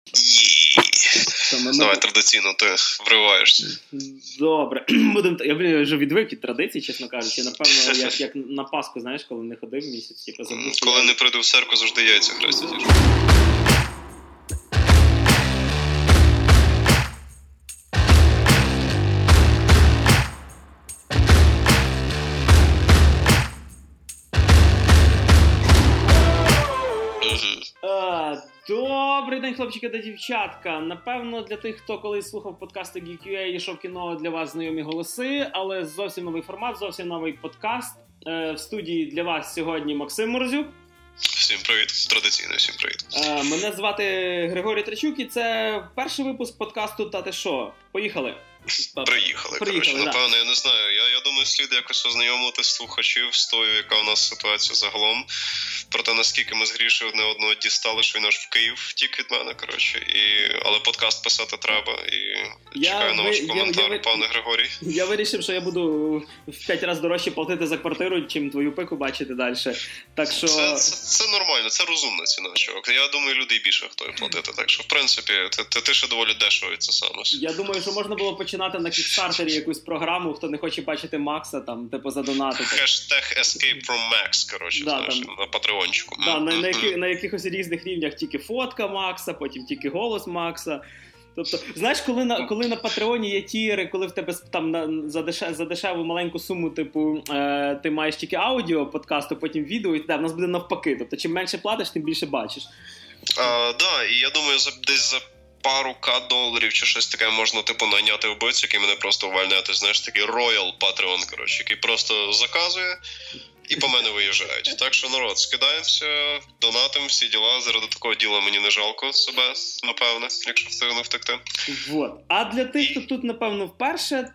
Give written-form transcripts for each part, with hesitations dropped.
Давай, традиційно ти вриваєшся. Добре. Я вже відвик від традицій, чесно кажучи. Напевно, як на Пасху, знаєш, коли не ходив місяць. Коли не прийду в церкву, завжди яйця хрестять. Добрий день, хлопчики та дівчатка. Напевно, для тих, хто колись слухав подкасти Geek.ua, йшов кіно, для вас знайомі голоси, але зовсім новий формат, зовсім новий подкаст. В студії для вас сьогодні Максим Морозюк. Всім привіт, традиційно всім привіт. Мене звати Григорій Трачук і це перший випуск подкасту «Та ти шо?». Поїхали. Приїхали. Коротше, да. Напевно, я не знаю. Я думаю, слід якось ознайомити слухачів з тою, яка у нас ситуація загалом. Про те, наскільки ми з Грішею одне одного дістали, що він аж в Київ втік від мене, коротше. Але подкаст писати треба. І чекаю на ваш коментар, пане Григорій. Я вирішив, що я буду в 5 разів дорожче платити за квартиру, чим твою пику бачити далі. Так що... Це нормально, це розумна ціна, чувак. Я думаю, люди більше готові платити. Так що, в принципі, ти ще доволі дешево від це саме. Я думаю, що можна було починати на Кікстартері якусь програму, хто не хоче бачити Макса, там, типу, задонатити. Hashtag Escape from Max, коротше, да, знаєш, там, на патреончику. Да, на якихось різних рівнях тільки фотка Макса, потім тільки голос Макса. Тобто, знаєш, коли на Патреоні є тіри, коли в тебе там за дешеву маленьку суму, типу, ти маєш тільки аудіо подкасту, потім відео, і в нас буде навпаки. Тобто, чим менше платиш, тим більше бачиш. Да, і я думаю, десь за пару $1 чи щось таке можна, типу, найняти вбивцю, який мене просто увольняти, знаєш, такий Royal Patreon, коротше, який просто заказує і по мене виїжджають. Так що, народ, скидаємося, донатимо, всі діла, заради такого діла мені не жалко себе, напевне, якщо встигну втекти. Вот. А для тих, хто тут, напевно, вперше,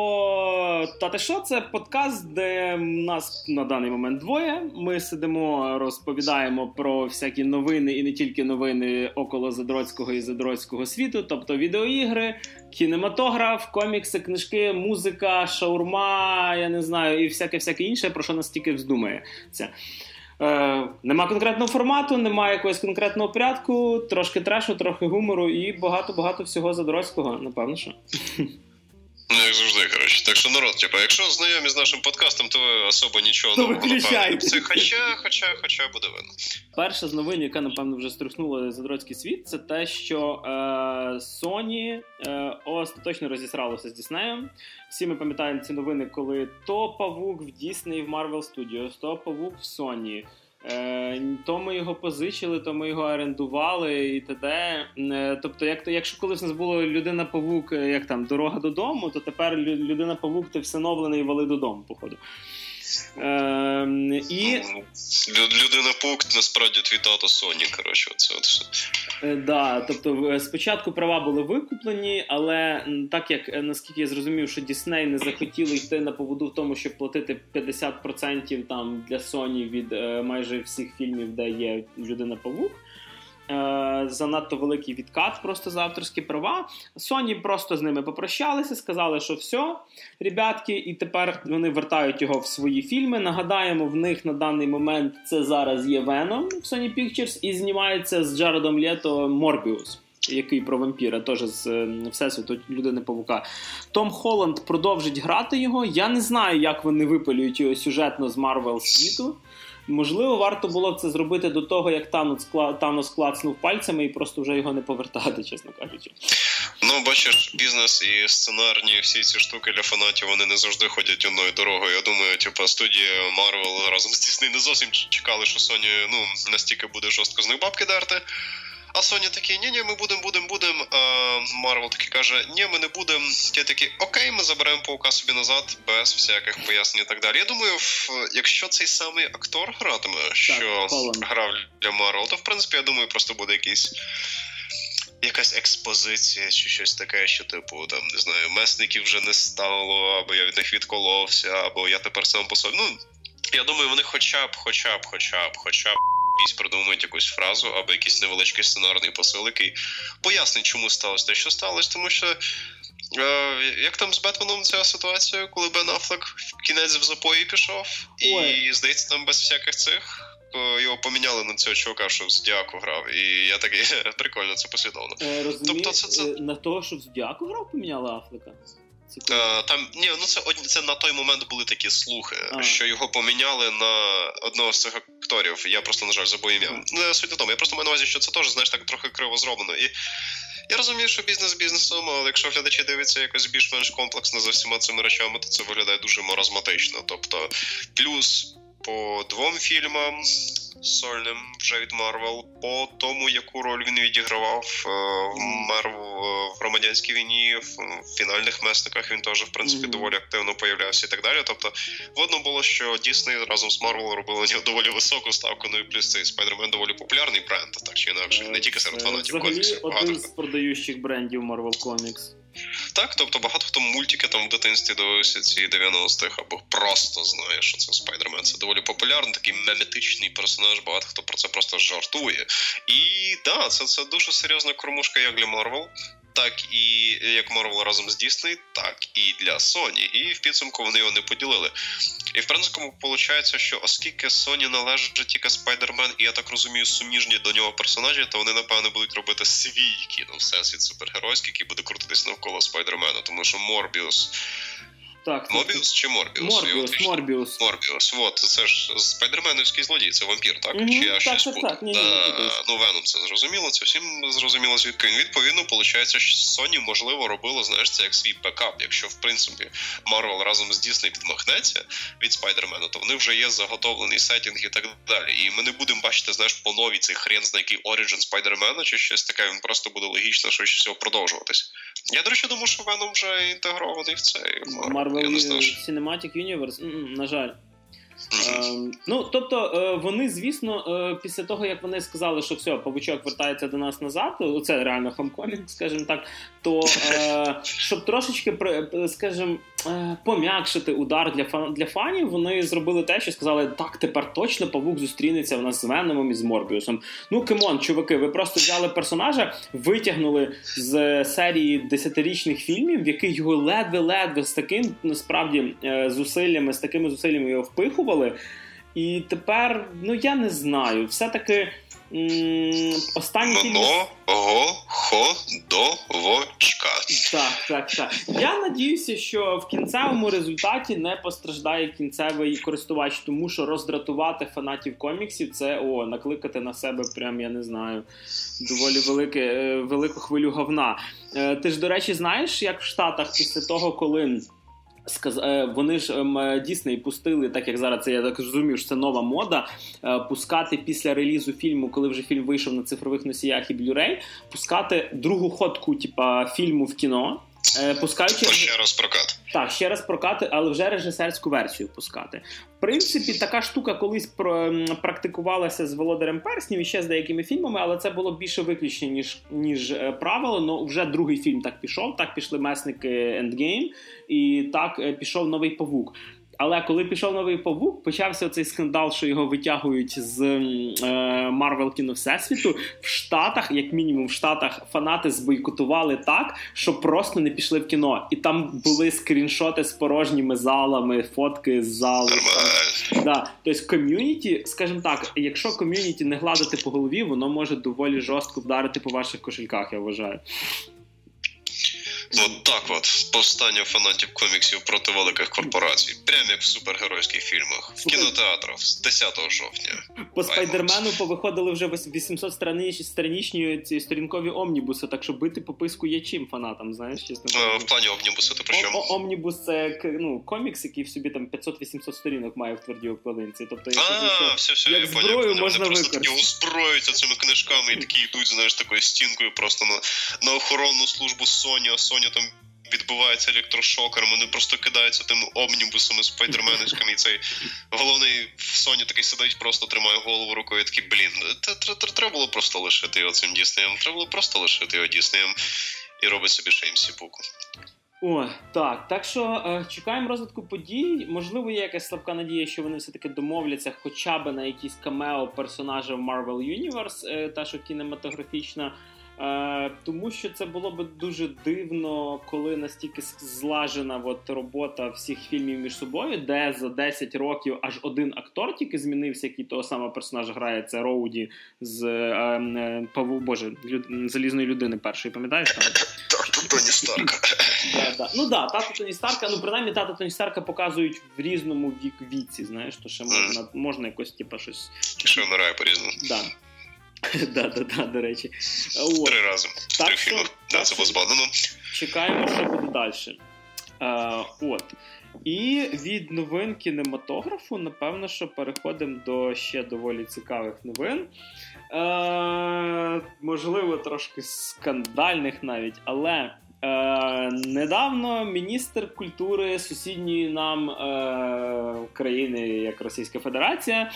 то «Та ти шо?» – це подкаст, де нас на даний момент двоє. Ми сидимо, розповідаємо про всякі новини і не тільки новини около задроцького і задроцького світу, тобто відеоігри, кінематограф, комікси, книжки, музика, шаурма, я не знаю, і всяке інше, про що нас тільки вздумає. Нема конкретного формату, немає якогось конкретного порядку, трошки трешу, трохи гумору і багато всього задроцького, напевно, що. Ну, як завжди, коротше. Так що, народ, типу, якщо знайомі з нашим подкастом, то ви особо нічого не виключайте. Це хоча буде видно. Перша з новин, яка, напевно, вже струснула задроцький світ, це те, що Sony остаточно розісралося з Діснеєм. Всі ми пам'ятаємо ці новини, коли то павук в Disney, в Marvel Studios, то павук в Sony. То ми його позичили, то ми його орендували і т.д. Тобто, якщо колись у нас було Людина-павук, як там, дорога додому, то тепер Людина-павук – ти всиновлений, вали додому, походу. Людина-павук, насправді, твій тато Sony, коротше, оце от все. Да, тобто, спочатку права були викуплені, але так як, наскільки я зрозумів, що Disney не захотіли йти на поводу в тому, щоб платити 50% там для Sony від майже всіх фільмів, де є Людина-павук, занадто великий відкат просто за авторські права. Sony просто з ними попрощалися, сказали, що все, ребятки, і тепер вони вертають його в свої фільми. Нагадаємо, в них на даний момент це зараз є Venom в Sony Pictures і знімається з Джаредом Лето Morbius, який про вампіра, теж з Всесвіту Людини-павука. Том Холланд продовжить грати його. Я не знаю, як вони випилюють його сюжетно з Marvel світу. Можливо, варто було б це зробити до того, як Танос клацнув пальцями і просто вже його не повертати, чесно кажучи. Ну, бачиш, бізнес і сценарні всі ці штуки для фанатів, вони не завжди ходять одною дорогою. Я думаю, типу, студія Marvel разом з Disney не зовсім чекали, що Sony, настільки буде жорстко з них бабки дерти. А Sony такі, ні, ми будемо. А Marvel таки каже, ні, ми не будемо. Ті такі, окей, ми заберемо паука собі назад, без всяких пояснень і так далі. Я думаю, якщо цей самий актор гратиме, що грав для Marvel, то, в принципі, я думаю, просто буде якась експозиція чи щось таке, що, типу, там, не знаю, месників вже не стало, або я від них відколовся, або я тепер сам по собі. Я думаю, вони хоча б придумають якусь фразу або якийсь невеличкий сценарний посил, який пояснить, чому сталося те, що сталося, тому що як там з Бетменом ця ситуація, коли Бен Аффлек в кінець в запої пішов, і, здається, там без всяких цих його поміняли на цього чувака, що в Зодіаку грав. І я такий, прикольно, це послідовно. Тобто це... На того, що в Зодіаку грав, поміняли Афлека? Там, це на той момент були такі слухи, що його поміняли на одного з цих акторів. Я просто, на жаль, забув ім'я. Суть не тому. Я просто маю на увазі, що це теж, знаєш, так трохи криво зроблено. І я розумію, що бізнес бізнесом, але якщо глядачі дивляться якось більш-менш комплексно за всіма цими речами, то це виглядає дуже маразматично. Тобто, плюс по 2 фільмам сольним вже від Марвел, по тому, яку роль він відігравав в громадянській війні, в фінальних месниках він теж, в принципі, доволі активно появлявся і так далі. Тобто, видно було, що Дісней разом з Марвел робили доволі високу ставку, ну і плюс цей Спайдермен доволі популярний бренд, так чи інакше, не тільки серед фанатів коміксів. Взагалі, один з продаючих брендів Marvel Comics. Так, тобто багато хто мультики там в дитинстві дивився ці 90-х, або просто знає, що це Спайдермен. Це доволі популярний, такий меметичний персонаж, багато хто про це просто жартує. І да, це дуже серйозна кормушка як для Марвел, так і як Марвел разом з Дісней, так і для Sony. І в підсумку вони його не поділили. І в принципі виходить, що оскільки Sony належить тільки Спайдермен, і я так розумію, суміжні до нього персонажі, то вони, напевно, будуть робити свій всесвіт супергеройський, який буде крутитись навколо Спайдермена. Тому що Морбіус... Так, Мобіус чи Морбіус? Морбіус. Вот, це ж спайдерменівський злодій, це вампір, так? Чи я щось путаю? Ну, Веном, це зрозуміло, це всім зрозуміло, звідки він. Відповідно, виходить, що Sony, можливо, робило, знаєш, це як свій бекап. Якщо, в принципі, Марвел разом з Дісней відмахнеться від Спайдермена, то вони вже є заготовлений сеттинг і так далі. І ми не будемо бачити, знаєш, по новій цей хрен знає який Origin Спайдермена чи щось таке, він просто буде логічно, що всього продовжуватись. Я, до речі, думаю, що Веном вже інтегрований в цей Marvel Cinematic Universe, на жаль. Ну, тобто, вони, звісно, після того, як вони сказали, що все, Павучок вертається до нас назад, це реально Homecoming, скажімо так, то, щоб трошечки, скажімо, пом'якшити удар для фанів, вони зробили те, що сказали, так, тепер точно Павук зустрінеться в нас з Веномом і з Морбіусом. Ну, камон, чуваки, ви просто взяли персонажа, витягнули з серії 10-річних фільмів, в яких його ледве-ледве з таким, насправді, з такими зусиллями його впихували. І тепер, ну, я не знаю, все-таки останні фільми... Ходовочка. Так. Я надіюся, що в кінцевому результаті не постраждає кінцевий користувач, тому що роздратувати фанатів коміксів – це, накликати на себе прям, я не знаю, доволі велику хвилю говна. Ти ж, до речі, знаєш, як в Штатах після того, коли... Вони ж Дісней пустили, так як зараз це, я так розумію, що це нова мода, пускати після релізу фільму, коли вже фільм вийшов на цифрових носіях і Blu-ray, пускати другу ходку фільму в кіно. Пускаючи... Ще раз прокат. Так, ще раз прокати, але вже режисерську версію пускати. В принципі, така штука колись практикувалася з «Володарем перснів» і ще з деякими фільмами, але це було більше виключення, ніж правило. Но вже другий фільм так пішов, так пішли «Месники Endgame» і так пішов «Новий Павук». Але коли пішов «Новий Павук», почався цей скандал, що його витягують з Марвел кіно Всесвіту. В Штатах, як мінімум в Штатах, фанати збойкотували так, що просто не пішли в кіно. І там були скріншоти з порожніми залами, фотки з залу. Да. Тобто ком'юніті, скажімо так, якщо ком'юніті не гладити по голові, воно може доволі жорстко вдарити по ваших кошельках, я вважаю. От так повстання фанатів коміксів проти великих корпорацій. Прямо як в супергеройських фільмах. В кінотеатрах з 10 жовтня. По Спайдермену повиходили вже 800-страничні ці сторінкові омнібуси, так що бити по писку є чим фанатам, знаєш, чесно. В плані омнібуси ти про що? Омнібус – це комікс, який в собі там 500-800 сторінок має в твердій обкладинці. Тобто, все, як зброю можна використати. Вони просто озброюються цими книжками і такі йдуть, знаєш, такою стінкою просто на охоронну службу Sony, а Sony там відбувається електрошокером, вони просто кидаються тими омнібусами, спайдерменівськими, і цей головний в Sony такий сидить, просто тримає голову рукою і такий, треба було просто лишити його цим Діснеєм, треба було просто лишити його Діснеєм і робить собі ще їм сіпуку. Так що чекаємо розвитку подій. Можливо, є якась слабка надія, що вони все-таки домовляться хоча б на якісь камео персонажів Marvel Universe, та що кінематографічна. Тому що це було б дуже дивно, коли настільки злажена робота всіх фільмів між собою, де за 10 років аж один актор тільки змінився, який того самого персонажа грає, це Роуді з Залізної людини першої, пам'ятаєш? Тато Тоні Старка. Тато Тоні Старка, принаймні тата Тоні Старка показують в різному віці, знаєш, то ще можна якось, щось... Що вмирає по-різному. До речі. 3 рази. 3 фільми. Це було збавлено. Чекаємо, що буде далі. І від новин кінематографу, напевно, що переходимо до ще доволі цікавих новин. Можливо, трошки скандальних навіть, але недавно міністр культури сусідньої нам країни, як Російська Федерація,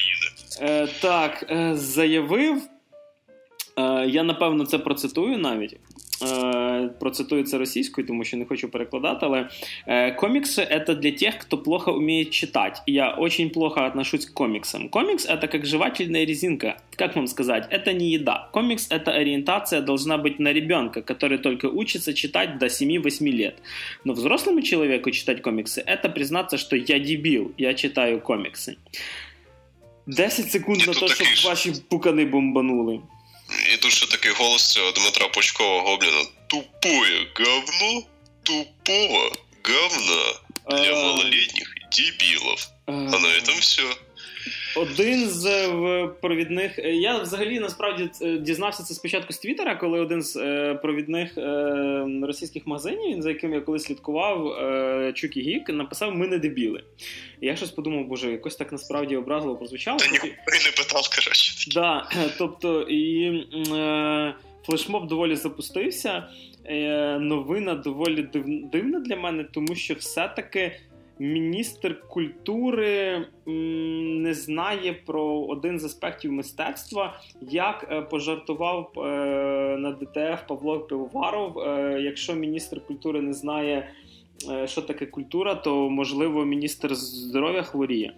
заявив, я, напевно, це процитую навіть, процитую це російською, тому що не хочу перекладати, але комиксы — это для тех, кто плохо умеет читать. Я очень плохо отношусь к комиксам. Комикс — это как жевательная резинка. Как вам сказать? Это не еда. Комикс — это ориентация должна быть на ребенка, который только учится читать до 7-8 лет. Но взрослому человеку читать комиксы — это признаться, что я дебил, я читаю комиксы. 10 секунд на те, щоб ваші пукани бомбанули. І тут ще такий голос цього Дмитра Пучкова Гобліна. Тупое говно, тупого говна для малолетних дебилов. А на этом все. Один з провідних... Я взагалі, насправді, дізнався це спочатку з Твіттера, коли один з провідних російських магазинів, за яким я колись слідкував, Чукі Гік, написав «Ми не дебіли». І я щось подумав, боже, якось так насправді образливо прозвучало. Та ніхто і не питав, коротше. Да, тобто, і флешмоб доволі запустився. Новина доволі дивна для мене, тому що все-таки міністр культури не знає про один з аспектів мистецтва, як пожартував на ДТФ Павло Пивоваров. Якщо міністр культури не знає, що таке культура, то, можливо, міністр здоров'я хворіє.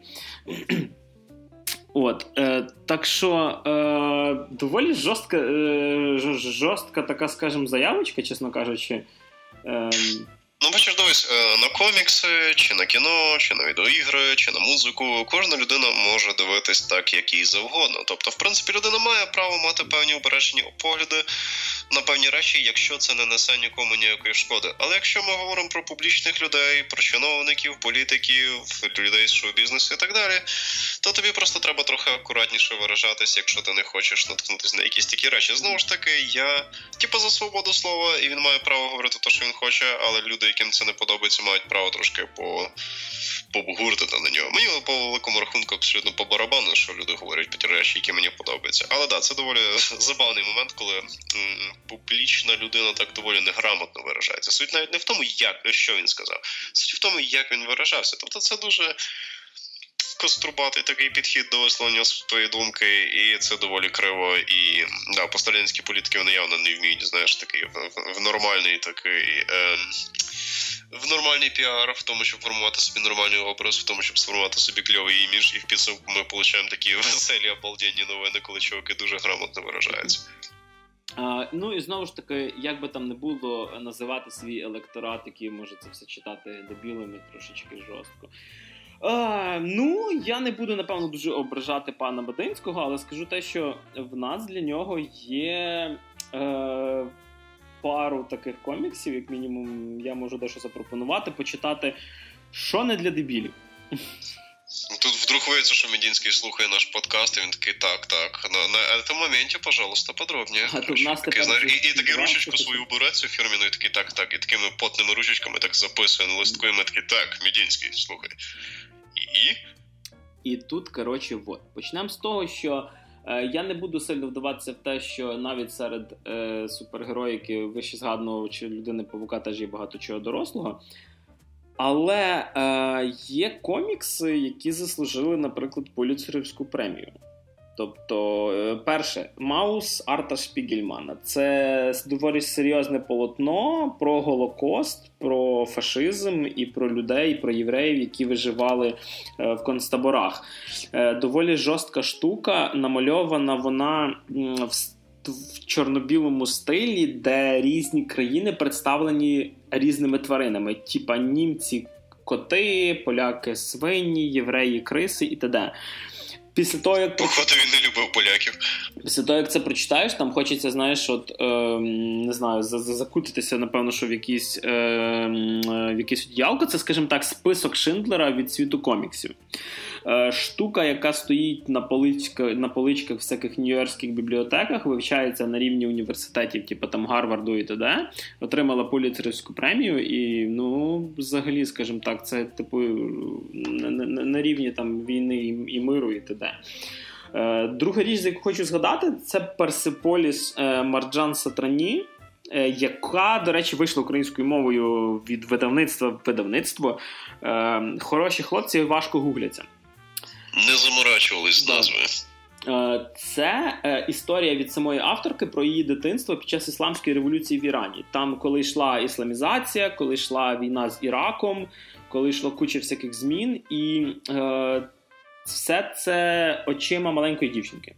Так що доволі жорстка така, скажімо, заявочка, чесно кажучи. Бачиш, дивись, на комікси, чи на кіно, чи на відеоігри, чи на музику, кожна людина може дивитись так, як їй завгодно. Тобто, в принципі, людина має право мати певні упереджені погляди на певні речі, якщо це не несе нікому ніякої шкоди. Але якщо ми говоримо про публічних людей, про чиновників, політиків, людей з шоу-бізнесу і так далі, то тобі просто треба трохи акуратніше виражатись, якщо ти не хочеш наткнутися на якісь такі речі. Знову ж таки, я за свободу слова, і він має право говорити те, що він хоче, але люди, яким це не подобається, мають право трошки побгуртити на нього. Мені по великому рахунку абсолютно по барабану, що люди говорять про ті речі, які мені подобаються. Але це доволі забавний момент, коли публічна людина так доволі неграмотно виражається. Суть навіть не в тому, що він сказав. Суть в тому, як він виражався. Тобто це дуже кострубатий такий підхід до висловлення своєї думки, і це доволі криво. І пострадянські політики, вони явно не вміють, знаєш, такий в нормальний такий... в нормальний піар, в тому, щоб формувати собі нормальний образ, в тому, щоб сформувати собі кльовий імідж, і в підсумку ми отримуємо такі веселі, обалденні новини, коли чуваки дуже грамотно виражаються. І знову ж таки, як би там не було, називати свій електорат, який може це все читати дебілами, трошечки жорстко. Я не буду, напевно, дуже ображати пана Бадинського, але скажу те, що в нас для нього є пару таких коміксів, як мінімум, я можу дещо запропонувати, почитати, що не для дебілів. Тут вдруг виявиться, що Медінський слухає наш подкаст, і він такий, так, на цьому моменті, пожалуйста, подробніше. І такий ручечку свою бере цю фірміну, і такий, так, і такими потними ручечками так записує на листку, і ми такі, так, Медінський, слухай. І тут, коротше, почнемо з того, що я не буду сильно вдаватися в те, що навіть серед супергероїки вище згаданого чи людини-павука теж є багато чого дорослого. Але є комікси, які заслужили, наприклад, Пулітцерівську премію. Тобто, перше, Маус Арта Шпігельмана. Це доволі серйозне полотно про Голокост, про фашизм і про людей, і про євреїв, які виживали в концтаборах. Доволі жорстка штука, намальована вона в в чорно-білому стилі, де різні країни представлені різними тваринами. Типа німці – коти, поляки – свині, євреї – криси і т.д. Після того, як... Походу, він не любив поляків. Після того, як це прочитаєш, там хочеться, знаєш, не знаю, закутитися, напевно, що в якісь одіялко. Це, скажімо так, список Шиндлера від світу коміксів. Штука, яка стоїть на поличках всяких нью-йоркських бібліотеках, вивчається на рівні університетів, типу там Гарварду і т.д., отримала Пулітцерівську премію і, взагалі, скажімо так, це, типу, на рівні там війни і миру і т.д. Друга річ, яку хочу згадати, це Персеполіс Марджан Сатрані, яка, до речі, вийшла українською мовою від видавництва в видавництво. Хороші хлопці важко гугляться. Не заморачувались з назвою. Це історія від самої авторки про її дитинство під час Ісламської революції в Ірані. Там, коли йшла ісламізація, коли йшла війна з Іраком, коли йшла куча всяких змін, і все це очима маленької дівчинки.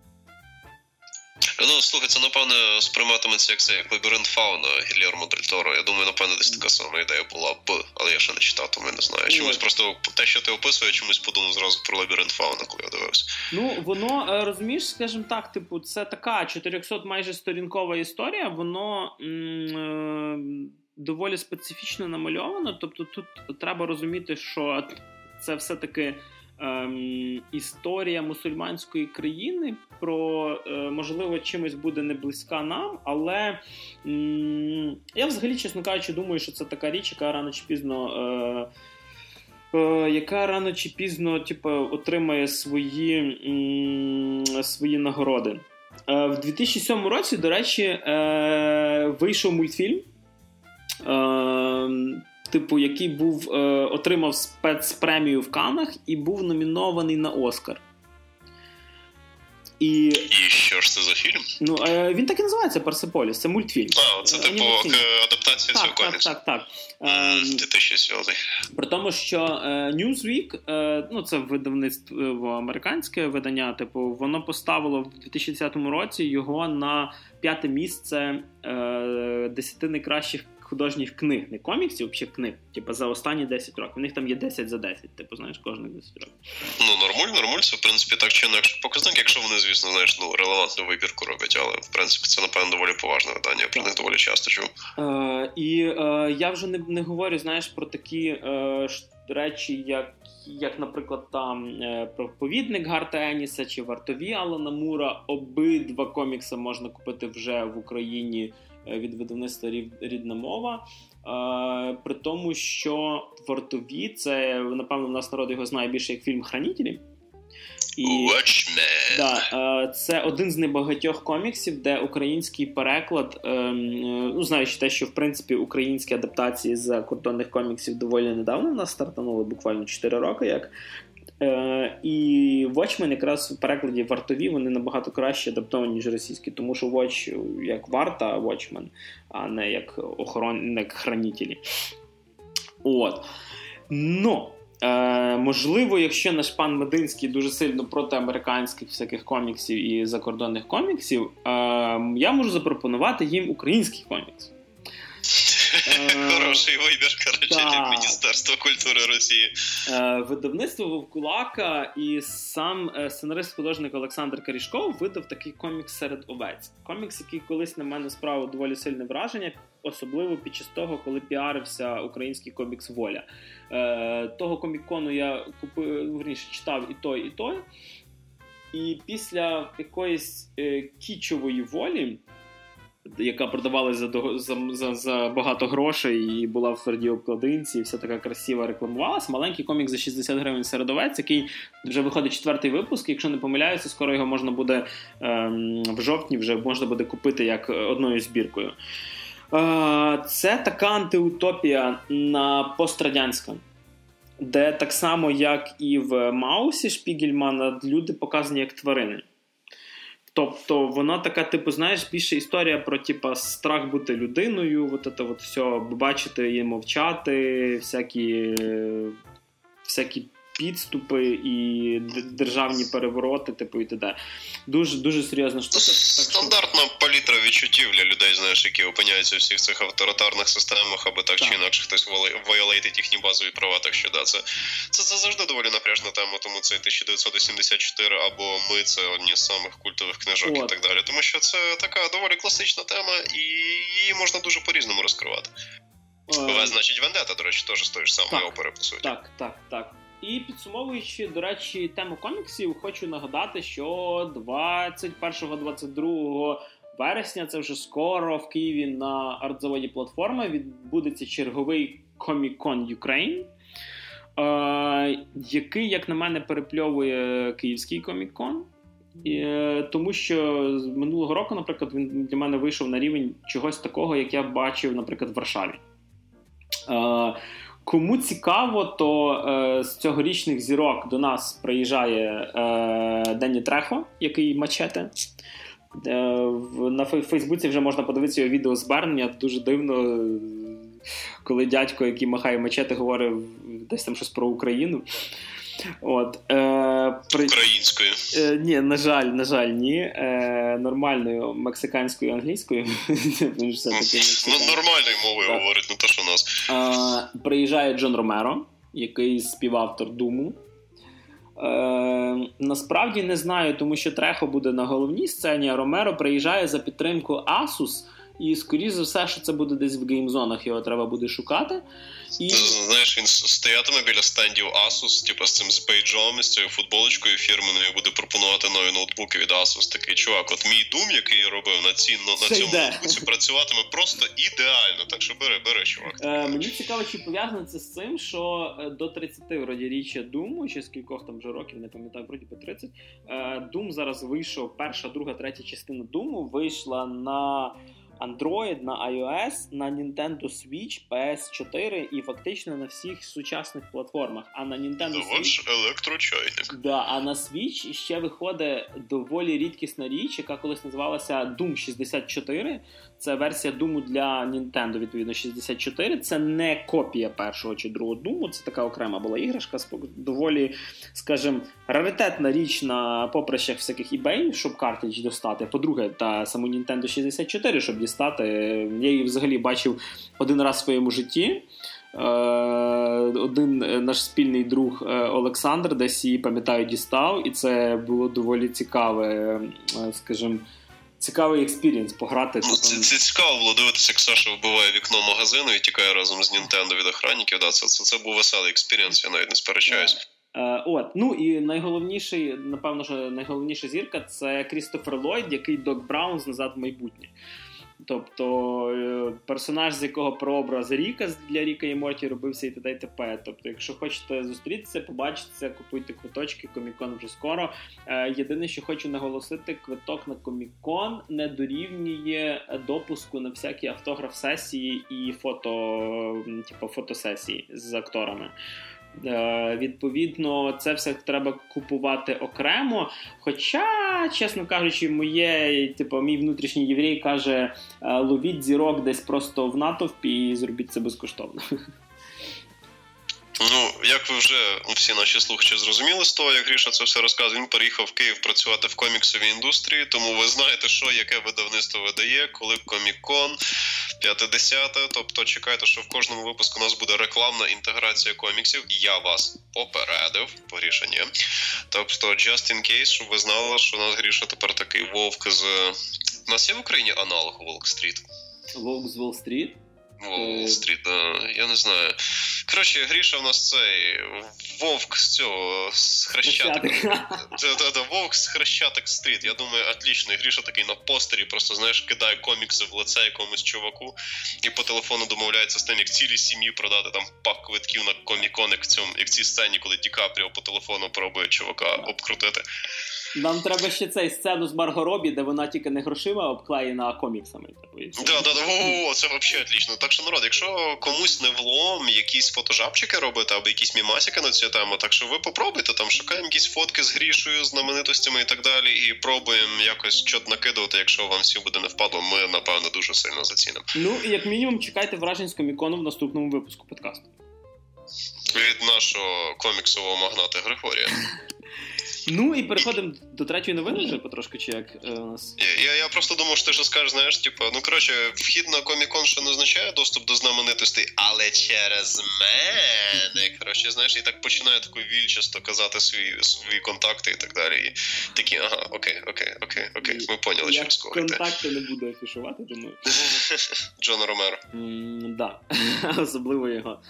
Слухай, це, напевне, сприйматиметься як лабіринт фауна Гільєрмо Дель Торо. Я думаю, напевне, десь така сама ідея була б, але я ще не читав, тому я не знаю. Чомусь просто те, що ти описує, чомусь подумав зразу про лабіринт фауна, коли я дивився. Воно, розумієш, скажімо так, типу, це така 400 майже сторінкова історія, воно доволі специфічно намальовано, тобто тут треба розуміти, що це все-таки історія мусульманської країни, можливо, чимось буде не близька нам, але я взагалі, чесно кажучи, думаю, що це така річ, яка рано чи пізно типу, отримає свої нагороди. В 2007 році, до речі, вийшов мультфільм, який отримав спецпремію в Каннах і був номінований на Оскар. І що ж це за фільм? Він так і називається «Персеполіс», це мультфільм. Це типу адаптація цього коміксу. Так. 2007. При тому, що Newsweek, це видавництво американське видання, воно поставило в 2010 році його на 5-те місце 10 найкращих художніх книг, не коміксів, взагалі книг, за останні 10 років. У них там є 10 за 10, знаєш, кожних 10 років. Нормально, це, в принципі, так чи інакше показник, якщо вони, звісно, знаєш, релевантну вибірку роблять, але, в принципі, це, напевно, доволі поважне видання, я про них доволі часто чув. І я вже не говорю, знаєш, про такі речі, як, наприклад, там «Проповідник» Гарта Еніса чи «Вартові» Алана Мура. Обидва комікси можна купити вже в Україні від видавництва «Рідна мова». При тому, що «Вартові» – це, напевно, в нас народ його знає більше як фільм «Хранителі». Це один з небагатьох коміксів, де український переклад, знаючи те, що, в принципі, українські адаптації з закордонних коміксів доволі недавно в нас стартанули, буквально 4 роки, як. І Watchmen якраз в перекладі «Вартові» вони набагато краще адаптовані, ніж російські, тому що Watch як варта Watchmen, а не як хранителі. Можливо, якщо наш пан Мединський дуже сильно проти американських всяких коміксів і закордонних коміксів, я можу запропонувати їм український комікс. Хороший вибір, як Міністерство культури Росії. Видавництво Вовкулака і сам сценарист-художник Олександр Карішков видав такий комікс «Серед овець». Комікс, який колись на мене справив доволі сильне враження, особливо під час того, коли піарився український комікс «Воля». Того комікону я читав і той. І після якоїсь кічової «Волі», яка продавалася за багато грошей і була в твердій обкладинці, і вся така красива рекламувалася. Маленький комік за 60 гривень «Серед овець», який вже виходить 4-й випуск. Якщо не помиляюся, скоро його можна буде в жовтні вже можна буде купити як одною збіркою. Це така антиутопія пострадянська, де так само, як і в «Маусі» Шпігельмана, люди показані як тварини. Тобто вона така, знаєш, більше історія про, страх бути людиною, все, бачити і мовчати, всякі підступи і державні перевороти, типу, і т.д. Дуже, дуже серйозна штука. Стандартна палітра відчуттів для людей, знаєш, які опиняються в всіх цих авторитарних системах, або так чи інакше хтось вайолейтить їхні базові права, так що, да, це завжди доволі напряжна тема, тому це 1984 або «Ми» — це одні з самих культових книжок і так далі, тому що це така доволі класична тема, і її можна дуже по-різному розкривати. Значить, «Вендета», до речі, теж з тої ж самої опери, по суті. Так. І підсумовуючи, до речі, тему коміксів, хочу нагадати, що 21-22 вересня, це вже скоро, в Києві на арт-заводі «Платформа» відбудеться черговий Comic-Con Ukraine, який, як на мене, перепльовує київський Comic-Con. Тому що з минулого року, наприклад, він для мене вийшов на рівень чогось такого, як я бачив, наприклад, в Варшаві. Кому цікаво, то з цьогорічних зірок до нас приїжджає Денні Трехо, який Мачете. На Фейсбуці вже можна подивитися його відеозвернення. Дуже дивно, коли дядько, який махає Мачете, говорив десь там щось про Україну. Українською. Ні, на жаль, ні. Нормальною мексиканською, англійською. Нормальною мовою говорить, не те, що у нас. Приїжджає Джон Ромеро, який співавтор Думу. Насправді не знаю, тому що Трехо буде на головній сцені, а Ромеро приїжджає за підтримку Asus. І, скоріше за все, що це буде десь в геймзонах, його треба буде шукати. І... Знаєш, він стоятиме біля стендів Asus, типу з цим з бейджом, з цією футболочкою фірменою, і буде пропонувати нові ноутбуки від Asus. Такий, чувак, от мій Doom, який я робив на цьому ноутбуці, працюватиме просто ідеально. Так що бери, чувак. Мені цікаво, чи пов'язано це з цим, що до 30 вроді річчя Doom, чи з кількох там вже років, не пам'ятаю, вроді по 30, Doom зараз вийшов, перша, друга, третя частина Doom вийшла на Android, на iOS, на Nintendo Switch, PS4 і фактично на всіх сучасних платформах. А на Nintendo Switch... електрочайник. Да, а на Switch ще виходить доволі рідкісна річ, яка колись називалася Doom 64. Це версія Doom для Nintendo, відповідно, 64. Це не копія першого чи другого Doom, це така окрема була іграшка, доволі, скажімо, раритетна річ на поприщах всяких eBay, щоб картридж достати. По-друге, та саму Nintendo 64, щоб дістати. Я її взагалі бачив один раз в своєму житті. Один наш спільний друг Олександр десь її, пам'ятаю, дістав, і це було доволі цікаве, скажімо, цікавий експірієнс пограти. Це цікаво було дивитися, як Саша вбиває вікно магазину і тікає разом з Nintendo від охранників. Да, це був веселий експірієнс, я навіть не сперечаюсь. Ну і найголовніший, напевно, що найголовніша зірка – це Крістофер Ллойд, який Док Браун з «Назад в майбутнє». Тобто персонаж, з якого прообраз Ріка для Ріка і Морті робився і т.д. і т.п. Тобто, якщо хочете зустрітися, побачитися, купуйте квиточки, Комік-Кон вже скоро. Єдине, що хочу наголосити, квиток на Комік-Кон не дорівнює допуску на всякі автограф-сесії і фотосесії з акторами. Відповідно, це все треба купувати окремо. Хоча, чесно кажучи, мій внутрішній єврей каже, ловіть зірок десь просто в натовпі і зробіть це безкоштовно. Ну, як ви вже всі наші слухачі зрозуміли з того, як Гріша це все розказує, він переїхав в Київ працювати в коміксовій індустрії, тому ви знаєте, яке видавництво видає, коли Комік-Кон, 50-те, тобто чекайте, що в кожному випуску у нас буде рекламна інтеграція коміксів, я вас попередив, по Гріша ні. Тобто, just in case, щоб ви знали, що у нас Гріша тепер такий вовк з... У нас є в Україні аналог Волк-стріт? Вовк з Уолл-стріт? Уолл-стріт, я не знаю. Коротше, Гріша в нас цей вовк з цього, з Хрещатик. Вовк з Хрещатик-стріт. Я думаю, отлично. І Гріша такий на постері просто, знаєш, кидає комікси в лице якомусь чуваку і по телефону домовляється з тим, як цілій сім'ї продати там пак квитків на Комік-Кон, як в цій сцені, коли Ді Капріо по телефону пробує чувака обкрутити. Нам треба ще цей сцену з Марго Робі, де вона тільки не грошима, а обклеєна коміксами. Це взагалі отлично. Так що, народ, якщо комусь не влом якісь фотожабчики робити або якісь мімасики на цю тему, так що ви попробуйте, там шукаємо якісь фотки з Грішою, знаменитостями і так далі, і пробуємо якось щось накидувати, якщо вам всі буде не впадло, ми, напевно, дуже сильно зацінимо. Ну, і як мінімум, чекайте вражень з Комік-Кону в наступному випуску подкасту. Від нашого коміксового магната Григорія. Ну і переходимо до третьої новини вже потрошки, чи як у нас? Я просто думав, що ти що скажеш, знаєш, типу, ну коротше, вхід на Комік-Кон ще не означає доступ до знаменитостей, але через мене, коротше, знаєш, і так починає таку вільчасто казати свої контакти і так далі. І такі, ага, окей, ми поняли, через кого йти. Я контакти не буду афішувати, думаю. Джона Ромеро. Да, особливо його.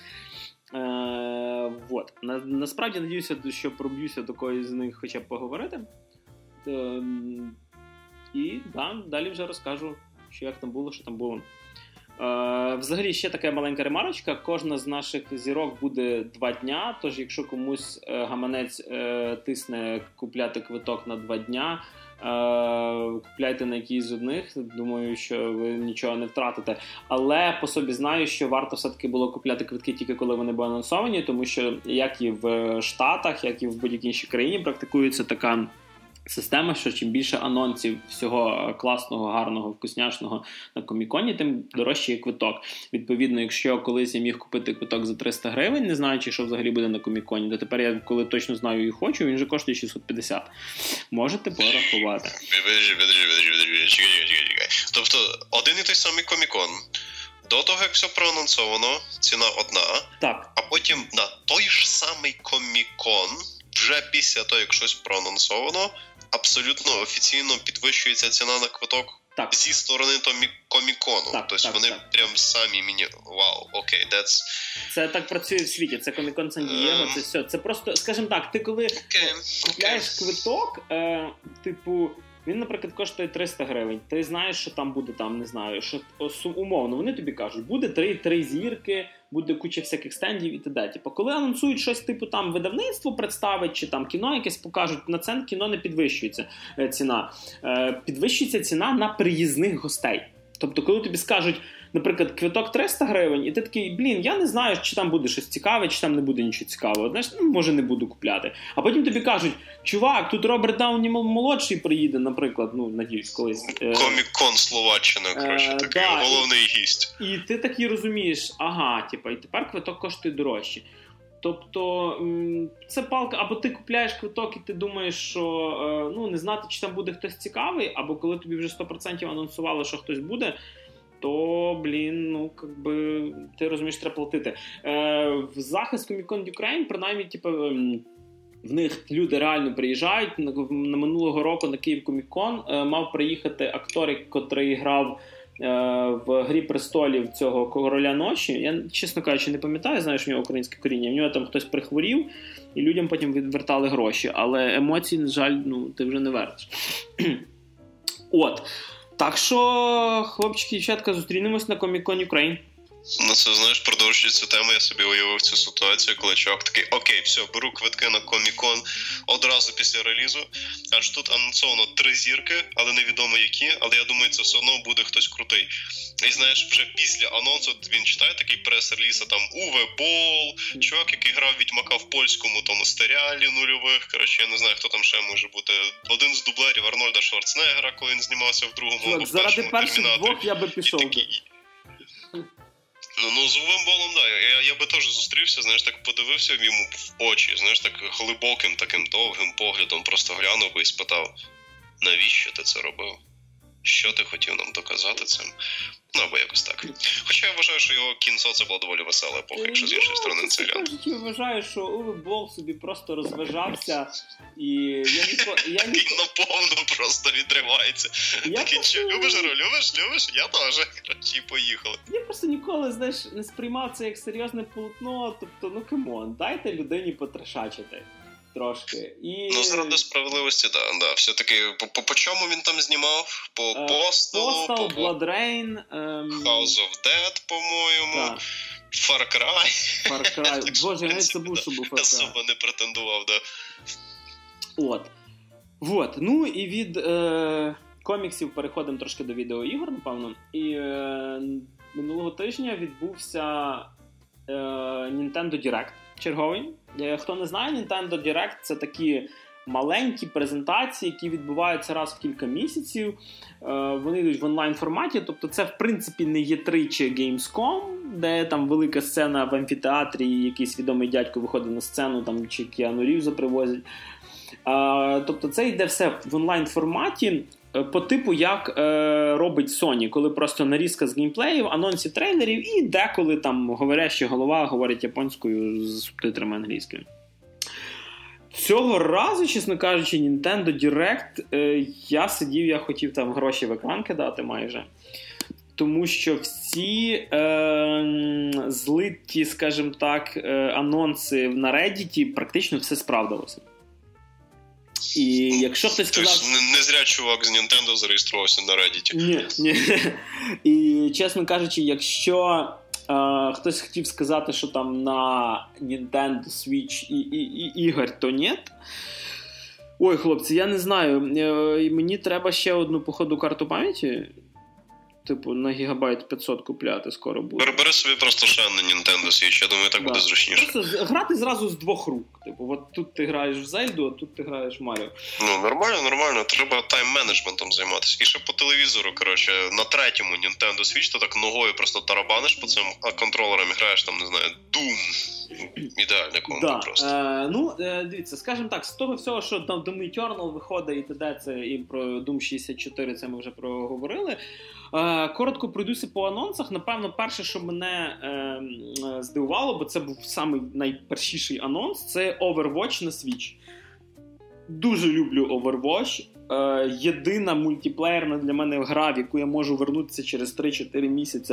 Вот. Насправді надіюся, що проб'юся до когось з них хоча б поговорити. І далі вже розкажу, що як там було, що там було. Взагалі, ще така маленька ремарочка. Кожна з наших зірок буде 2 дня, тож якщо комусь гаманець тисне купляти квиток на 2 дня, купляйте на якийсь з одних, думаю, що ви нічого не втратите. Але по собі знаю, що варто все-таки було купляти квитки тільки коли вони були анонсовані, тому що як і в Штатах, як і в будь-якій іншій країні практикується така система, що чим більше анонсів всього класного, гарного, вкусняшного на Коміконі, тим дорожчий є квиток. Відповідно, якщо колись я міг купити квиток за 300 гривень, не знаючи, що взагалі буде на Коміконі, то тепер я, коли точно знаю і хочу, він же коштує 650. Можете порахувати. Чекай. Тобто, один і той самий Комікон. До того, як все проанонсовано, ціна одна. Так. А потім на той ж самий Комікон, вже після того, як щось проанонсовано, абсолютно офіційно підвищується ціна на квиток зі сторони Комікону. Тобто вони прям самі мені... Вау, окей, Це так працює в світі, це Комікон Сан-Дієго, це все. Це просто, скажімо так, ти коли купляєш квиток, типу, він, наприклад, коштує 300 гривень. Ти знаєш, що там буде, там, не знаю, що умовно, вони тобі кажуть, буде 3 зірки, буде куча всяких стендів і т.д. Типу, коли анонсують щось, типу, там, видавництво представить, чи там кіно якесь покажуть, на це кіно не підвищується ціна. Підвищується ціна на приїзних гостей. Тобто, коли тобі скажуть, наприклад, квиток 300 гривень, і ти такий, я не знаю, чи там буде щось цікаве, чи там не буде нічого цікавого. Знаєш, може не буду купляти. А потім тобі кажуть, чувак, тут Роберт Дауні молодший приїде, наприклад, надіюсь, колись. Комік-кон Словаччина, коротше, такий головний гість. І ти такий розумієш, і тепер квиток коштує дорожче. Тобто, це палка, або ти купляєш квиток і ти думаєш, що не знати, чи там буде хтось цікавий, або коли тобі вже 100% анонсували, що хтось буде, то, ти розумієш, треба платити. В захист Comic-Con Ukraine, принаймні, в них люди реально приїжджають. На минулого року на Київ Комік-Кон мав приїхати актор, котрий грав в «Грі престолів» цього Короля ночі. Я, чесно кажучи, не пам'ятаю, знаєш, в нього українське коріння. В нього там хтось прихворів, і людям потім відвертали гроші. Але емоції, на жаль, ти вже не вертиш. Так що, хлопчики і дівчатка, зустрінемось на Comic-Con Ukraine. Це, знаєш, продовжуючи цю тему, я собі уявив цю ситуацію, коли чувак такий, окей, все, беру квитки на Комік-Кон одразу після релізу, аж тут анонсовано 3 зірки, але невідомо які, але я думаю, це все одно буде хтось крутий. І знаєш, вже після анонсу він читає такий прес-реліз, а там Уве Болл, чувак, який грав Відьмака в польському тому серіалі нульових, коротше, я не знаю, хто там ще може бути. Один з дублерів Арнольда Шварценеггера, коли він знімався в другому або в першому Термінаторі. Заради перших 2 я би пішов. З Увем Боллом, я би теж зустрівся, знаєш, так подивився йому в очі, знаєш, так глибоким, таким довгим поглядом просто глянув би і спитав, навіщо ти це робив? Що ти хотів нам доказати цим? Або якось так. Хоча я вважаю, що його кінцо це була доволі весела епоха, якщо з іншої сторони це глянути. Я вважаю, що Уве Болл собі просто розважався, і я Він наповно просто відривається. Такий, любиш гру, любиш? Я теж. І поїхали. Я просто ніколи, знаєш, не сприймав це як серйозне полотно, тобто, камон, дайте людині потрешачити. Трошки. Заради справедливості, да. Все-таки, по чому він там знімав? По Postal, Blood Rain, House of Dead, по-моєму, Far Cry. Боже, я навіть забув, що був Far Cry. Особо не претендував, да. І від коміксів переходимо трошки до відеоігор, напевно. І минулого тижня відбувся Nintendo Direct черговий. Хто не знає, Nintendo Direct — це такі маленькі презентації, які відбуваються раз в кілька місяців. Вони йдуть в онлайн-форматі, тобто це, в принципі, не E3 чи Gamescom, де там велика сцена в амфітеатрі, і якийсь відомий дядько виходить на сцену, там, чи Кіану Рівза привозять. Тобто це йде все в онлайн-форматі, по типу, як робить Sony, коли просто нарізка з геймплеїв, анонсів, трейлерів, і деколи там говоряща голова говорить японською з субтитрами англійськими. Цього разу, чесно кажучи, Nintendo Direct, я хотів там гроші в екран кидати майже. Тому що всі злиті, скажімо так, анонси на Reddit практично все справдилося. І якщо хтось сказав... Тобто не зря чувак з Nintendo зареєструвався на Reddit. Ні. І, чесно кажучи, якщо хтось хотів сказати, що там на Nintendo Switch і ігор, то ні. Ой, хлопці, я не знаю. Мені треба ще одну, походу, карту пам'яті. Типу, на гігабайт 500 купляти скоро буде. Бери собі просто ще на Nintendo Switch, я думаю, так буде зручніше. Просто грати зразу з двох рук. Типу, от тут ти граєш в Зельду, а тут ти граєш в Маріо. Ну, нормально. Треба тайм-менеджментом займатися. І ще по телевізору, коротше, на третьому Nintendo Switch ти так ногою просто тарабаниш по цим контролерам і граєш там, не знаю, Doom. Ідеальне комбо просто. Дивіться, скажімо так, з того всього, що там Doom Eternal виходить і т.д. це і про Doom 64, це ми вже проговорили. Коротко пройдуся по анонсах. Напевно, перше, що мене здивувало, бо це був самий найпершіший анонс, це Overwatch на Switch. Дуже люблю Overwatch. Єдина мультиплеєрна для мене гра, в яку я можу вернутися через 3-4 місяці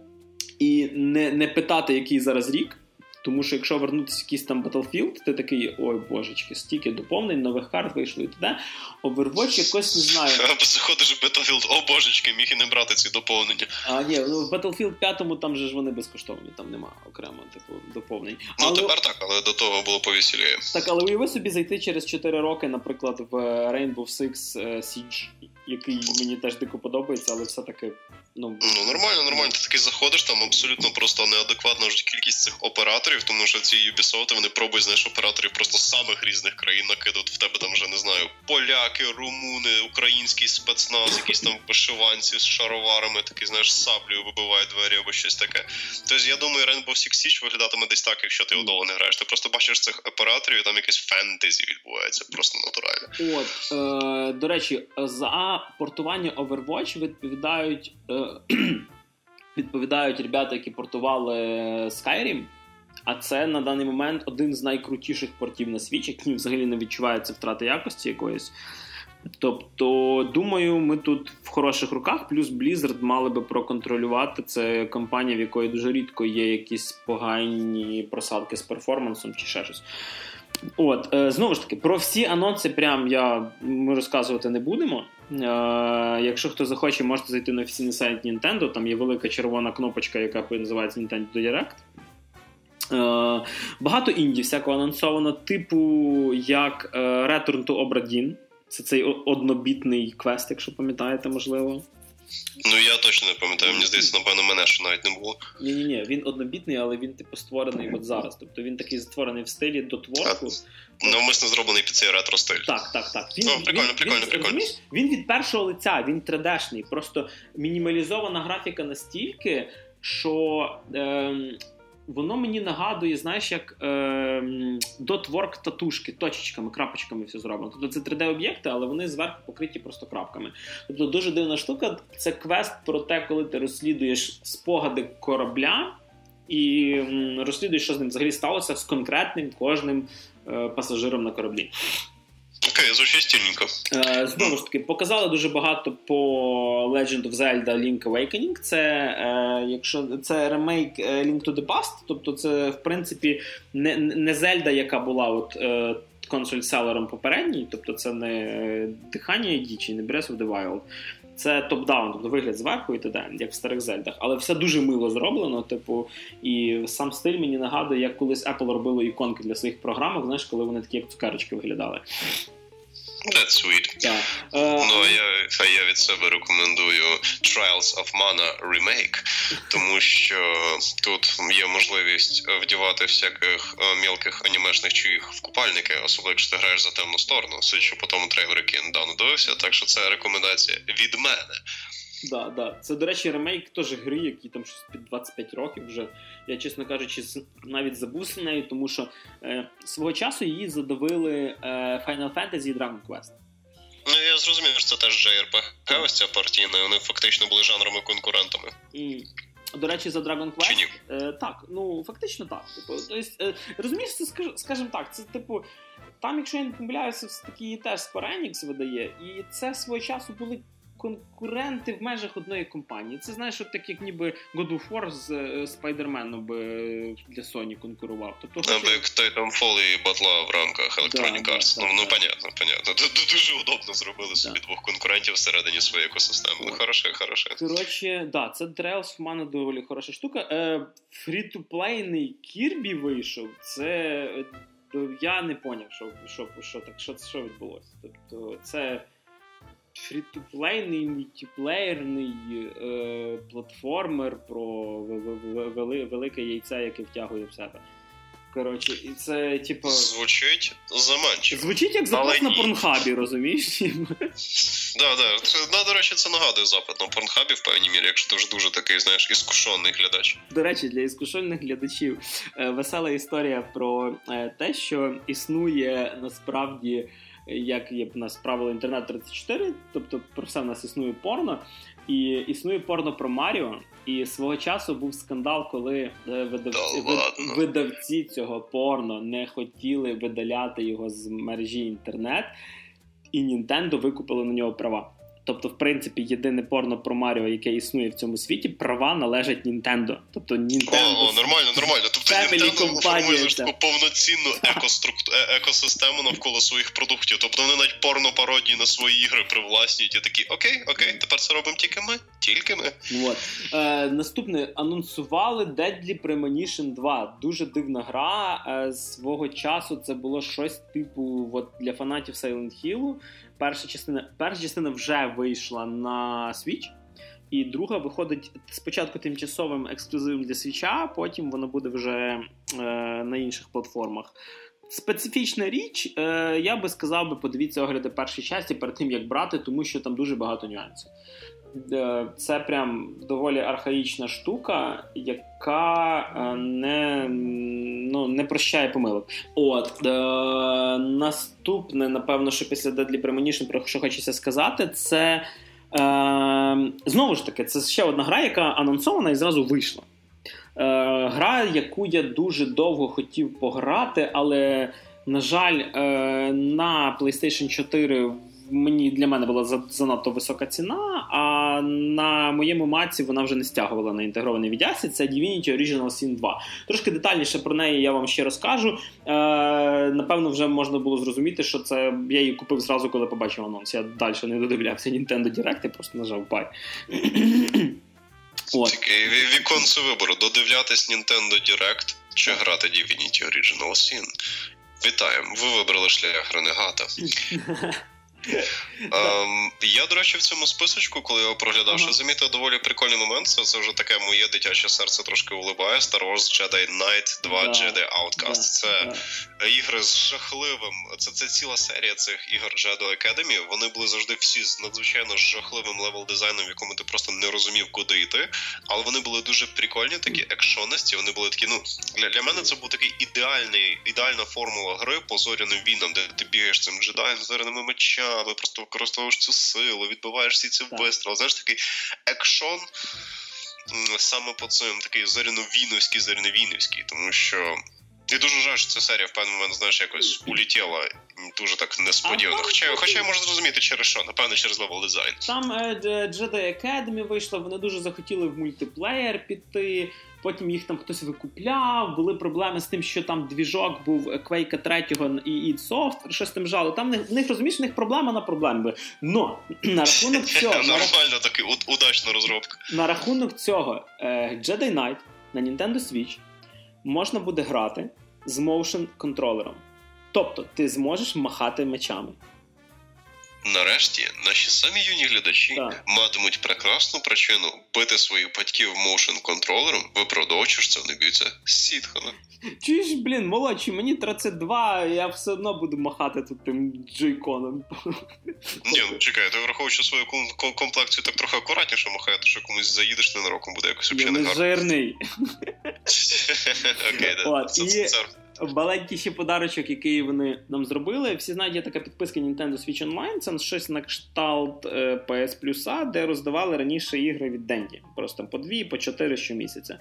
і не питати, який зараз рік. Тому що якщо вернутися в якийсь там Battlefield, ти такий, ой, божечки, стільки доповнень, нових карт вийшло і т.д. Overwatch якось не знаю. Або заходиш в Battlefield, о божечки, міг і не брати ці доповнення. Ні, в Battlefield 5 там же ж вони безкоштовні, там нема окремо типу доповнень. Тепер так, але до того було повеселіє. Так, але уяви собі зайти через 4 роки, наприклад, в Rainbow Six Siege, який мені теж дико подобається, але все-таки... Нормально. Ти такий заходиш, там абсолютно просто неадекватна вже кількість цих операторів, тому що ці Ubisoft, вони пробують, знаєш, операторів просто з самих різних країн накидати. В тебе там вже, не знаю, поляки, румуни, український спецназ, якісь там вишиванці з шароварами, такі, знаєш, з саблею вибивають двері або щось таке. Тобто, я думаю, Rainbow Six Siege виглядатиме десь так, якщо ти удово не граєш. Ти просто бачиш цих операторів, і там якесь фентезі відбувається, просто натурально. До речі, за портування Overwatch відповідають ребята, які портували Skyrim, а це на даний момент один з найкрутіших портів на Switch, який взагалі не відчувається втрати якості якоїсь. Тобто, думаю, ми тут в хороших руках, плюс Blizzard мали би проконтролювати. Це компанія, в якої дуже рідко є якісь погані просадки з перформансом чи ще щось. Знову ж таки, про всі анонси ми розказувати не будемо. Якщо хто захоче, можете зайти на офіційний сайт Nintendo, там є велика червона кнопочка, яка називається Nintendo Direct. Багато інді всякого анонсовано, типу як Return to Obra Dinn. Це цей однобітний квест, якщо пам'ятаєте, можливо. Я точно не пам'ятаю, мені здається, напевно, мене ще навіть не було. Ні, він однобітний, але він типу створений от зараз. Тобто він такий створений в стилі дотворку. Навмисно зроблений під цей ретро-стиль. Так. Прикольно. Він від першого лиця, він 3D-шний. Просто мінімалізована графіка настільки, що... воно мені нагадує, знаєш, як дотворк татушки, точечками, крапочками все зроблено. Тобто це 3D-об'єкти, але вони зверху покриті просто крапками. Тобто дуже дивна штука. Це квест про те, коли ти розслідуєш спогади корабля і розслідуєш, що з ним взагалі сталося з конкретним кожним пасажиром на кораблі. Окей, звучить стільненько. Знову ж таки, показали дуже багато по Legend of Zelda Link Awakening. Це ремейк Link to the Past, тобто це, в принципі, не Zelda, яка була консоль-селером попередній, тобто це не Дихання Дічі, не Breath of the Wild. Це топ-даун, тобто вигляд зверху і т.д., як в старих Зельдах. Але все дуже мило зроблено, і сам стиль мені нагадує, як колись Apple робило іконки для своїх програмок, знаєш, коли вони такі, як цукерочки виглядали. That's sweet. Так. А я від себе рекомендую Trials of Mana Remake, тому що тут є можливість вдівати всяких мілких анімешних чуїх в купальники, особливо якщо ти граєш за темну сторону, судячи по тому трейлеру, який я недавно дивився, так що це рекомендація від мене. Да. Це, до речі, ремейк теж гри, які там щось під 25 років вже. Я, чесно кажучи, навіть забувся нею, тому що свого часу її задавили Final Fantasy і Dragon Quest. Ну, я зрозумів, що це теж JRPG, ось ця партійна, і вони фактично були жанровими конкурентами. До речі, за Dragon Quest? Так, ну, фактично так. Розумієш, це, скажімо так, це, там, якщо я не помиляюся, все-таки теж Square Enix видає, і це свого часу були конкуренти в межах одної компанії. Це, знаєш, от так, як ніби God of War з Spider-Man для Sony конкурував. Тобто, або як Titanfall і батла в рамках Electronic Arts. Ну, понятно. Дуже удобно зробили собі двох конкурентів всередині своєї екосистеми. Ну, хороше. Коротше, це Trials of Mana доволі хороша штука. Фрі-ту-плейний Kirby вийшов. Це... Я не поняв, що відбулося. Тобто, це... фрі-ту-плейний, мультиплеєрний платформер про велике яйце, яке втягує в себе. Коротше, і це, типу... Звучить заманчиво. Звучить як запит на Порнхабі, розумієш? Да. До речі, це нагадує запит на Порнхабі, в певній мірі, якщо ти вже дуже такий, знаєш, іскушений глядач. До речі, для іскушених глядачів весела історія про те, що існує насправді... як є в нас правило Інтернет 34, тобто про все в нас існує порно, і існує порно про Маріо, і свого часу був скандал, коли видавці цього порно не хотіли видаляти його з мережі інтернет, і Nintendo викупили на нього права. Тобто, в принципі, єдине порно про Маріо, яке існує в цьому світі, права належать Nintendo. Тобто, Nintendo... Нормально. Тобто, Nintendo формує таку повноцінну екосистему навколо своїх продуктів. Тобто, вони навіть порно-пародії на свої ігри привласнюють і такі, окей, тепер це робимо тільки ми. От. Наступне, анонсували Deadly Premonition 2. Дуже дивна гра. Свого часу це було щось типу для фанатів Silent Hill. Перша частина вже вийшла на Switch, і друга виходить спочатку тимчасовим ексклюзивом для Switch, потім вона буде вже на інших платформах. Специфічна річ, я би сказав, подивіться огляди першої часті перед тим, як брати, тому що там дуже багато нюансів. Це прям доволі архаїчна штука, яка не прощає помилок. Наступне, напевно, що після Deadly Premonition, про що хочеться сказати, це знову ж таки, це ще одна гра, яка анонсована і зразу вийшла. Гра, яку я дуже довго хотів пограти, але, на жаль, на PlayStation 4 для мене була занадто висока ціна, а на моєму маці вона вже не стягувала на інтегрований віддясі. Це Divinity Original Sin 2. Трошки детальніше про неї я вам ще розкажу. Напевно, вже можна було зрозуміти, що це я її купив зразу, коли побачив анонс. Я далі не додивлявся Nintendo Direct, я просто нажав buy. Такий віконце вибору. Додивлятись Nintendo Direct чи грати Divinity Original Sin. Вітаємо, ви вибрали шлях ренегата. Я, до речі, в цьому списочку, коли я його проглядав, що замітив доволі прикольний момент, це вже таке моє дитяче серце трошки улибає. Star Wars Jedi Knight 2 Jedi Outcast. Це ігри з жахливим, це ціла серія цих ігор Jedi Academy. Вони були завжди всі з надзвичайно жахливим левел-дизайном, в якому ти просто не розумів, куди йти. Але вони були дуже прикольні, такі екшонисті, вони були такі, для мене це був такий ідеальна формула гри по зоряним війнам, де ти бігаєш цим джедаєм з зоряними мечами, просто використовуєш цю силу, відбиваєш всі ці вистріли. Знаєш, такий екшон саме по цим, такий зоряно-війнівський, тому що я дуже жаль, що ця серія в певний момент, знаєш, якось улетіла дуже так несподівано. Хоча я можу зрозуміти через що, напевно, через левел дизайн. Там Jedi Academy вийшла, вони дуже захотіли в мультиплеєр піти, потім їх там хтось викупляв, були проблеми з тим, що там двіжок був Quake 3 і id Software, щось там жало. Там в них, розумієш, в них проблема на проблеми. Но, на рахунок цього... Нормально такий, удачна розробка. На рахунок цього, Jedi Knight на Nintendo Switch можна буде грати з motion контролером. Тобто, ти зможеш махати мечами. нарешті наші самі юні глядачі матимуть прекрасну причину бити своїх батьків моушн-контролером, виправдовуючи, що вони б'ються з сітхами. Чуєш, молодші, мені 32, я все одно буду махати тут тим джойконом. Ні, чекай, ти враховуючи свою комплекцію так трохи акуратніше махає, то що комусь заїдеш ненароком, буде якось взагалі не гарно. Я не жирний. Окей, це... Маленький ще подарочок, який вони нам зробили. Всі знають, є така підписка Nintendo Switch Online. Це щось на кшталт PS Plus, де роздавали раніше ігри від Денді. Просто по 2, по 4 щомісяця.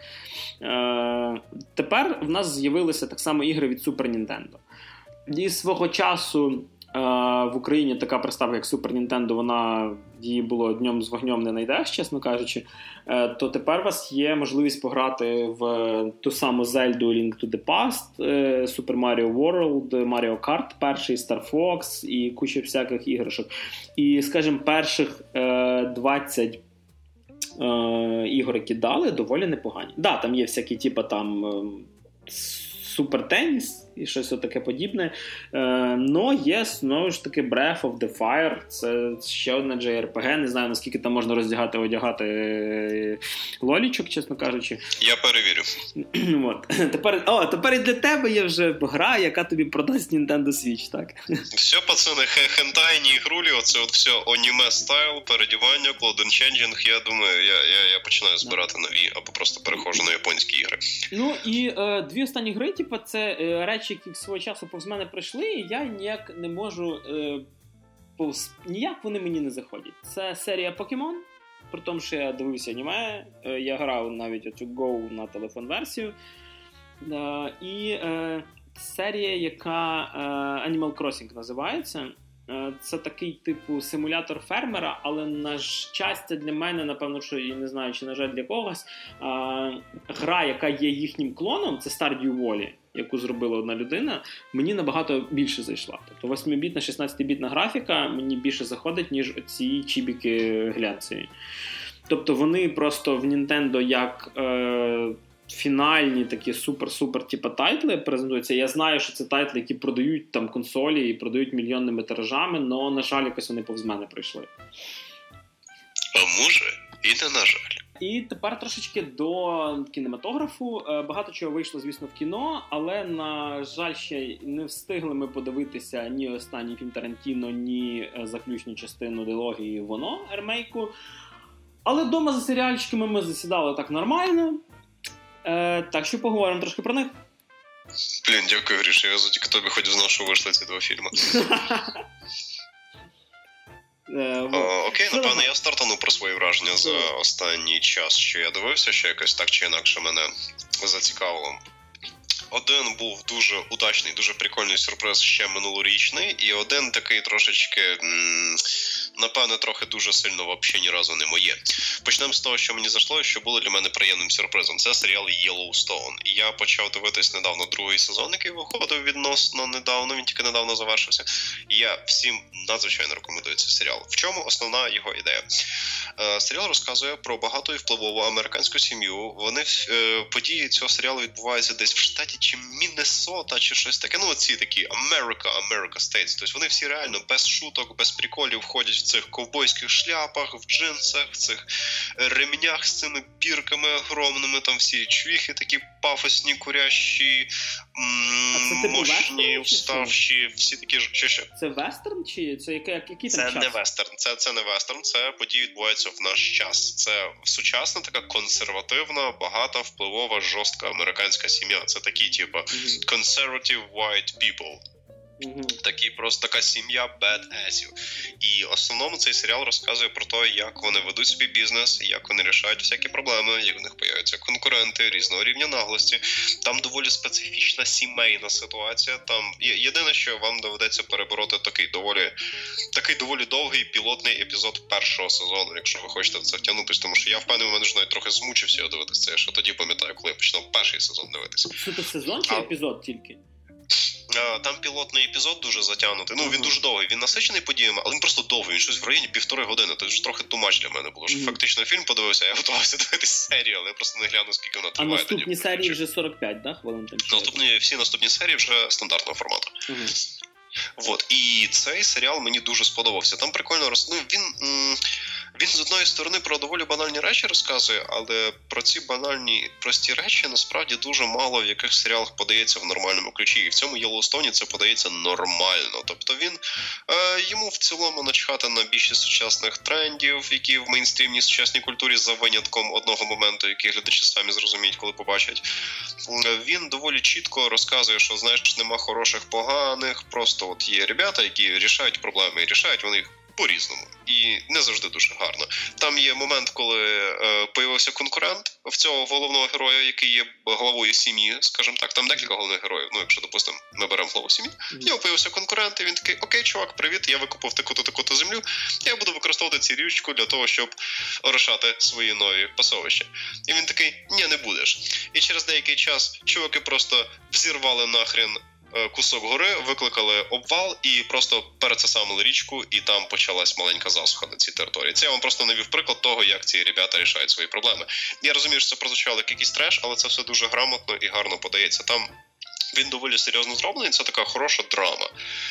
Тепер в нас з'явилися так само ігри від Super Nintendo. І свого часу в Україні така приставка, як Super Nintendo, її було днем з вогнем не знайдеш, чесно кажучи, то тепер у вас є можливість пограти в ту саму Zelda Link to the Past, Super Mario World, Mario Kart, перший Star Fox і куча всяких іграшок. І, скажімо, перших 20 ігор, які дали, доволі непогані. Да, там є всякі, типу, там Супер Теніс і щось таке подібне. Но є, знову ж таки, Breath of the Fire. Це ще одна JRPG. Не знаю, наскільки там можна одягати лолічок, чесно кажучи. Я перевірю. Тепер і для тебе є вже гра, яка тобі продасть Nintendo Switch, так? Все, пацани, хентайні ігрулі, оце от все аніме стайл, передівання, Cloud Changing. Я думаю, я починаю збирати нові, або просто переходжу на японські ігри. Ну, і дві останні гри, типу, це речі, які свого часу повз мене пройшли, і я ніяк не можу, ніяк вони мені не заходять. Це серія Покемон, при тому, що я дивився аніме, я грав навіть оцю Go на телефон-версію, і серія, яка Animal Crossing називається. Це такий типу симулятор фермера, але на щастя для мене, напевно, що і не знаю, чи на жаль для когось, гра, яка є їхнім клоном, це Stardew Valley, яку зробила одна людина, мені набагато більше зайшла. Тобто 8-бітна, 16-бітна графіка мені більше заходить, ніж ці чібіки глянцеві. Тобто вони просто в Nintendo як фінальні такі супер-супер типу тайтли презентуються. Я знаю, що це тайтли, які продають там консолі і продають мільйонними тиражами, але, на жаль, якось вони повз мене прийшли. А може, і не на жаль. І тепер трошечки до кінематографу. Багато чого вийшло, звісно, в кіно, але, на жаль, ще не встигли ми подивитися ні останній фільм Тарантіно, ні заключну частину дилогії «Воно» ремейку. Але вдома за серіальчиками ми засідали так нормально. Так що поговоримо трошки про них. Блін, дякую, Гріша. Я тільки тобі хоч знав, що вийшли ці два фільми. Окей, напевно, я стартану про свої враження за останній час, що я дивився, що якось так чи інакше мене зацікавило. Один був дуже удачний, дуже прикольний сюрприз ще минулорічний, і один такий трошечки, напевне, трохи дуже сильно взагалі ні разу не моє. Почнемо з того, що мені зайшло, і що було для мене приємним сюрпризом. Це серіал Yellowstone. І я почав дивитись недавно другий сезон, який виходив відносно недавно, він тільки недавно завершився. І я всім надзвичайно рекомендую цей серіал. В чому основна його ідея? Серіал розказує про багату і впливову американську сім'ю. Події цього серіалу відбуваються десь в штаті чи Міннесота, чи щось таке. Ну, оці такі America States. Тобто вони всі реально без шуток, без приколів ходять в цих ковбойських шляпах, в джинсах, в цих ремнях з цими бірками огромними, там всі чвіхи такі пафосні, курящі, мощні, уставші, всі такі... Що? Це вестерн? Чи це який там час? Не вестерн. Це не вестерн, це події відбуваються в наш час. Це сучасна, така консервативна, багата, впливова, жорстка американська сім'я. Це такі, типу, conservative white people. Такі, просто така сім'я bad-assів. І в основному цей серіал розказує про те, як вони ведуть свій бізнес, як вони рішають всякі проблеми, як в них появляються конкуренти різного рівня наглості. Там доволі специфічна сімейна ситуація. Там єдине, що вам доведеться перебороти такий доволі довгий пілотний епізод першого сезону, якщо ви хочете в це втягнутися. Тому що я впевнений, мене ж навіть трохи змучився його дивитися. Я ще тоді пам'ятаю, коли я починав перший сезон дивитися. Це сезон чи епізод тільки? Там пілотний епізод дуже затягнутий. Ну, він дуже довгий. Він насичений подіями, але він просто довгий. Він щось в районі 1,5 години. Це ж трохи тумач для мене було. Що фактично фільм подивився, я готувався дивитися серію, але я просто не гляну, скільки вона триває. А наступні серії вже 45, да? Хвилин там? Всі наступні серії вже стандартного формату. Вот. І цей серіал мені дуже сподобався. Там прикольно він з одної сторони про доволі банальні речі розказує, але про ці банальні, прості речі насправді дуже мало в яких серіалах подається в нормальному ключі. І в цьому Йеллоустоні це подається нормально. Тобто йому в цілому начхати на більшість сучасних трендів, які в мейнстрімній сучасній культурі за винятком одного моменту, який глядачі самі зрозуміють, коли побачать. Він доволі чітко розказує, що, знаєш, нема хороших, поганих, просто от є ребята, які рішають проблеми, і рішають вони їх по-різному. І не завжди дуже гарно. Там є момент, коли появився конкурент в цього головного героя, який є главою сім'ї, скажімо так. Там декілька головних героїв. Ну, якщо, допустимо, ми беремо главу сім'ї. В нього появився конкурент, і він такий: окей, чувак, привіт, я викупив таку-то землю, я буду використовувати цю річку для того, щоб орошати свої нові пасовища. І він такий: ні, не будеш. І через деякий час чуваки просто взірвали нахрен кусок гори, викликали обвал і просто перецесамили річку, і там почалась маленька засуха на цій території. Це я вам просто навів приклад того, як ці ребята рішають свої проблеми. Я розумію, що це прозвучало як якийсь треш, але це все дуже грамотно і гарно подається. Там він доволі серйозно зроблений, це така хороша драма.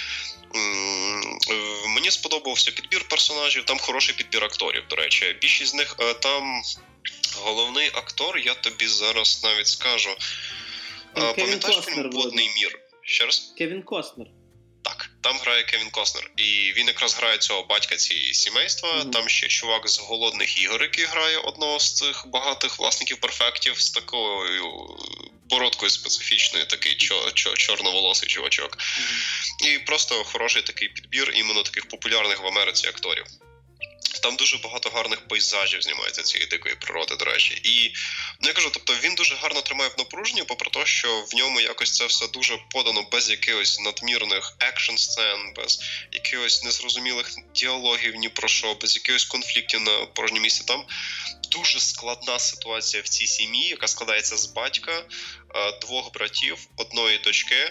Мені сподобався підбір персонажів, там хороший підбір акторів, до речі. Більшість з них, там головний актор, я тобі зараз навіть скажу. Пам'ятаєш фільм «Водний мір»? Ще раз? Кевін Костнер. Так, там грає Кевін Костнер. І він якраз грає цього батька цієї сімейства. Там ще чувак з «Голодних ігор», який грає одного з цих багатих власників перфектів з такою бородкою специфічною, такий чорноволосий чувачок. І просто хороший такий підбір іменно таких популярних в Америці акторів. Там дуже багато гарних пейзажів знімається цієї дикої природи, до речі. І, я кажу, тобто він дуже гарно тримає в напруженні, попри те, що в ньому якось це все дуже подано без якихось надмірних екшн-сцен, без якихось незрозумілих діалогів ні про що, без якихось конфліктів на порожньому місці. Там дуже складна ситуація в цій сім'ї, яка складається з батька, двох братів, одної дочки,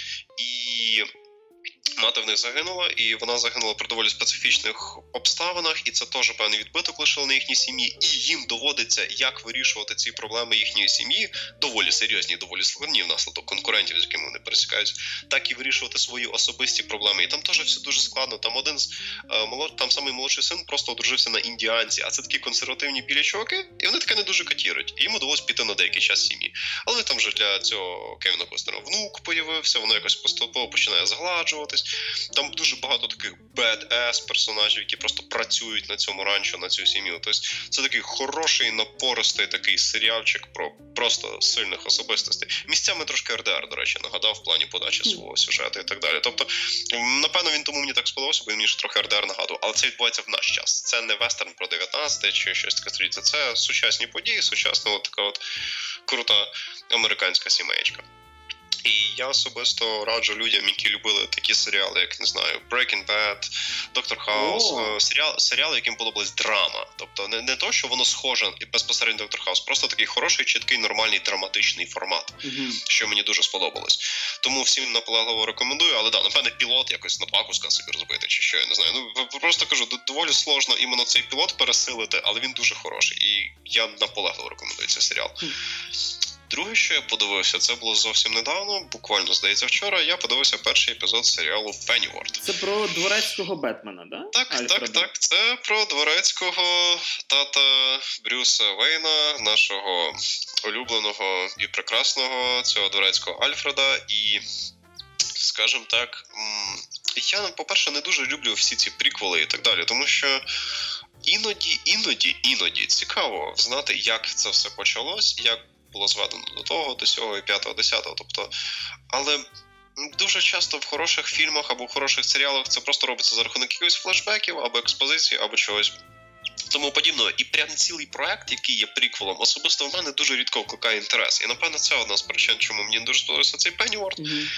і мати в них загинула, і вона загинула при доволі специфічних обставинах, і це теж певний відбиток лишило на їхній сім'ї, і їм доводиться, як вирішувати ці проблеми їхньої сім'ї, доволі серйозні, доволі складні внаслідок конкурентів, з якими вони пересікаються, так і вирішувати свої особисті проблеми. І там теж все дуже складно. Там там самий молодший син просто одружився на індіанці, а це такі консервативні білі чуваки, і вони таке не дуже катіруть. І йому довелося піти на деякий час сім'ї. Але там вже для цього Кевіна Костнера внук появився, воно якось поступово починає згладжуватись. Там дуже багато таких badass персонажів, які просто працюють на цьому ранчо, на цю сім'ю. Тобто це такий хороший, напористий такий серіальчик про просто сильних особистостей. Місцями трошки РДР, до речі, нагадав в плані подачі свого сюжету і так далі. Тобто, напевно, він тому мені так сподобався, бо він мені ж трохи РДР нагадував. Але це відбувається в наш час. Це не вестерн про 19-те чи щось таке століття. Це сучасні події, сучасна така от крута американська сімеєчка. І я особисто раджу людям, які любили такі серіали, як, не знаю, Breaking Bad, Доктор Хаус, серіали, яким подобалась драма. Тобто не то, що воно схоже безпосередньо Доктор Хаус, просто такий хороший, чіткий, нормальний драматичний формат, що мені дуже сподобалось. Тому всім наполегливо рекомендую, але да, напевне, пілот якось на 2 куска собі розбити, чи що, я не знаю. Ну, просто кажу, доволі сложно іменно цей пілот пересилити, але він дуже хороший. І я наполегливо рекомендую цей серіал. Друге, що я подивився, це було зовсім недавно, буквально, здається, вчора, я подивився перший епізод серіалу «Пенніворд». Це про дворецького Бетмена, да? Так. Це про дворецького тата Брюса Вейна, нашого улюбленого і прекрасного цього дворецького Альфреда. І, скажімо так, я, по-перше, не дуже люблю всі ці приквели і так далі, тому що іноді цікаво знати, як це все почалось, як було зведено до того, до сього і 5-го, 10-го, тобто, але дуже часто в хороших фільмах або в хороших серіалах це просто робиться за рахунок якихось флешбеків, або експозиції, або чогось тому подібного. І прям цілий проект, який є приквелом, особисто в мене дуже рідко викликає інтерес. І, напевно, це одна з причин, чому мені дуже сподобався цей Пенніворд.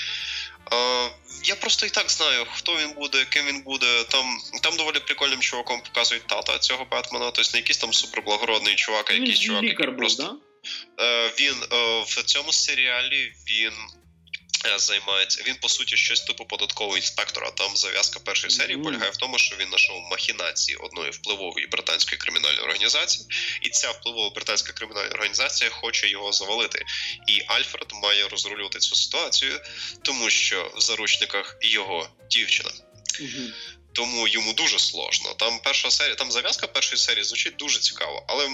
Я просто і так знаю, хто він буде, ким він буде. Там доволі прикольним чуваком показують тата цього Бетмена, тобто не якийсь там суперблагородний чувак, а якийсь чувак, який просто... Він в цьому серіалі, він займається. Він, по суті, щось типу податкового інспектора. Там зав'язка першої серії полягає в тому, що він знайшов махінації одної впливової британської кримінальної організації, і ця впливова британська кримінальна організація хоче його завалити. І Альфред має розрулювати цю ситуацію, тому що в заручниках його дівчина. Тому йому дуже сложно. Там перша серія, там зав'язка першої серії звучить дуже цікаво, але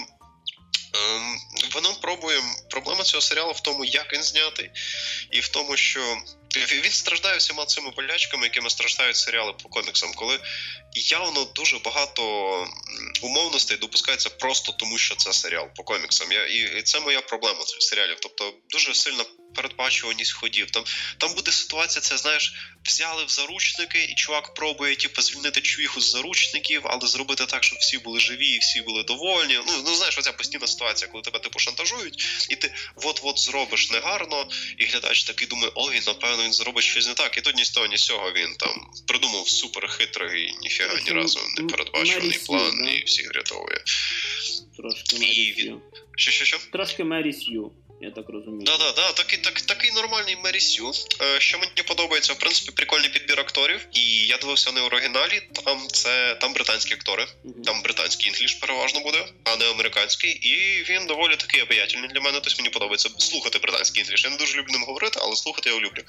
воно пробує. Проблема цього серіалу в тому, як він знятий, і в тому, що він страждає всіма цими болячками, якими страждають серіали по коміксам, коли явно дуже багато умовностей допускається просто тому, що це серіал по коміксам. І це моя проблема цих серіалів. Тобто дуже сильна передбачуваність ходів. Там буде ситуація, це, знаєш, взяли в заручники, і чувак пробує, звільнити чувіху з заручників, але зробити так, щоб всі були живі і всі були довольні. Ну знаєш, оця постійна ситуація, коли тебе, шантажують, і ти от-от зробиш негарно, і глядач такий думає, ой, напевно, він зробить щось не так. І тут ні з того, ні з цього він там придумав суперхитрий, ніфіга ні разу не передбачуваний план, да? І всіх рятує. Трошки Мері Сью. Що? Трошки Мері Сью. Я так розумію. Да, такий нормальний Мері Сью. Що мені подобається, в принципі, прикольний підбір акторів. І я дивився не в оригіналі, там британські актори. Там британський інгліш переважно буде, а не американський. І він доволі такий обаятельний для мене, тобто мені подобається слухати британський інгліш. Я не дуже люблю ним говорити, але слухати я його люблю.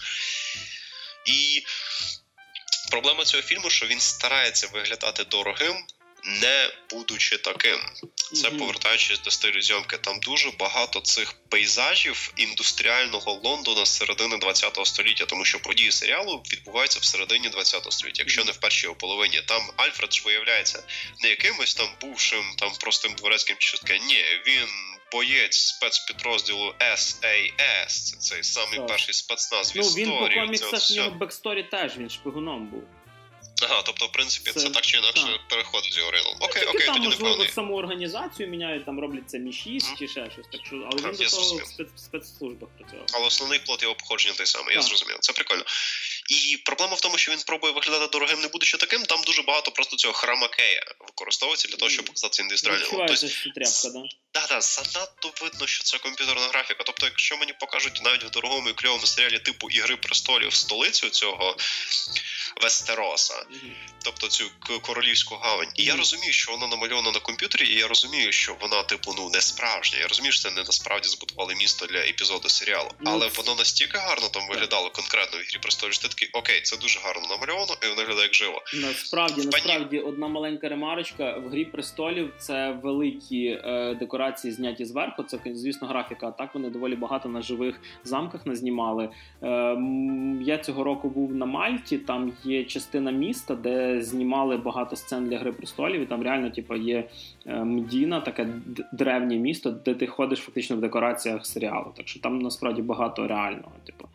І проблема цього фільму, що він старається виглядати дорогим, не будучи таким. Це повертаючись до стилю зйомки. Там дуже багато цих пейзажів індустріального Лондона з середини 20-го століття, тому що події серіалу відбуваються в середині 20-го століття, якщо не в першій його половині. Там Альфред ж виявляється не якимось там бувшим, там простим дворецьким чи щось таке. Ні, він боєць спецпідрозділу SAS. Це цей самий перший спецназ в історії. Він по коміксах, в нього бексторі теж, він шпигуном був. Ага, тобто, в принципі, це так чи інакше переходить з його оригіналом. Окей, там, тоді можливо, непевний. Саму організацію міняють, там роблять це Мі-6 чи ще щось. Так що, але він до того в спецслужбах працював. Але основний плот його походження той самий, я зрозумів. Це прикольно. І проблема в тому, що він пробує виглядати дорогим, не будучи таким. Там дуже багато просто цього хромакея використовується для того, щоб показати індустріальний. Відчувається, що тряпка, да? Да, занадто видно, що це комп'ютерна графіка. Тобто, якщо мені покажуть навіть в дорогому і кльовому серіалі типу «Ігри престолів» столицю цього Вестероса, тобто цю королівську гавань. І я розумію, що вона намальована на комп'ютері, і я розумію, що вона, не справжня. Я розумію, що це не насправді збудували місто для епізоду серіалу. Але воно настільки гарно там виглядало конкретно в «Ігрі престолів», що ти такий, окей, це дуже гарно намальовано, і воно виглядає як живо. Насправді, одна маленька ремарочка. В «Грі престолів» це великі декорації зняті зверху, це, звісно, графіка. А так вони доволі багато на живих замках назнімали. Я цього року був на Мальті, там є частина міста, де знімали багато сцен для «Гри престолів», і там реально є Мдіна, таке древнє місто, де ти ходиш фактично в декораціях серіалу. Так що там насправді багато реального.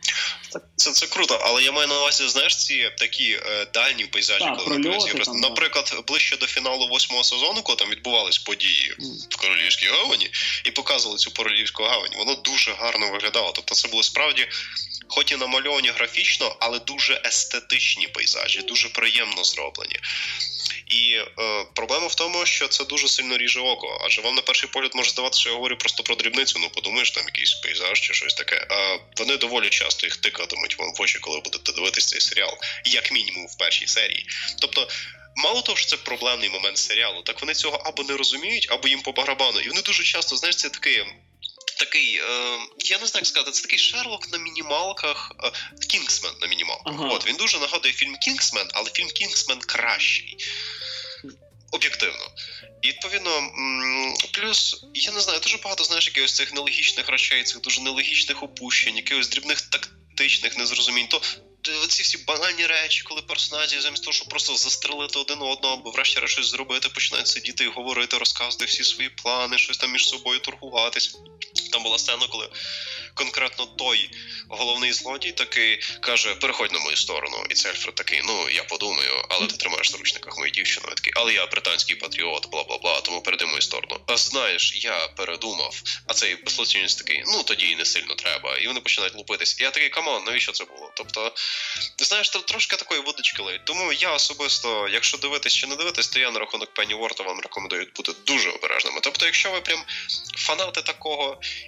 Це круто, але я маю на увазі, знаєш, ці такі дальні пейзажі, наприклад, ближче до фіналу 8-го сезону, коли там відбувались події в Королівській гавані, і показували цю Королівську гавань, воно дуже гарно виглядало. Тобто це було справді, хоч і намальовані графічно, але дуже естетичні пейзажі, дуже приємно зроблені. І проблема в тому, що це дуже сильно ріже око. Адже вам на перший погляд може здаватися, що я говорю просто про дрібницю, подумаєш, там якийсь пейзаж чи щось таке. Вони доволі часто їх тикатимуть вам в очі, коли будете дивитися цей серіал. Як мінімум в першій серії. Тобто, мало того, що це проблемний момент серіалу, так вони цього або не розуміють, або їм по барабану. І вони дуже часто, знаєш, це такий, я не знаю, як сказати, це такий Шерлок на мінімалках, Кінгсмен на мінімалках. От, він дуже нагадує фільм «Кінгсмен», але фільм «Кінгсмен» кращий. Об'єктивно. І, відповідно, плюс, я не знаю, дуже багато, знаєш, якихось цих нелогічних речей, цих дуже нелогічних опущень, якихось дрібних тактичних незрозумінь. То оці всі банальні речі, коли персонажі замість того, щоб просто застрелити один одного, або врешті-решт щось зробити, починають сидіти і говорити, розказувати всі свої плани, щось там між собою торгуватись. Там була сцена, коли конкретно той головний злодій такий каже, переходь на мою сторону. І цей Альфред такий, я подумаю, але ти тримаєш в заручниках мою дівчину. Я такий, але я британський патріот, бла-бла-бла, тому перейди мою сторону. А знаєш, я передумав. А цей безсловцінець такий, тоді і не сильно треба. І вони починають лупитись. І я такий, камон, навіщо це було? Тобто, знаєш, трошки такої водички лить. Тому я особисто, якщо дивитись чи не дивитись, то я на рахунок Пенніворта вам рекомендую бути дуже обережними. Тобто, якщо ви прям фанати такого easy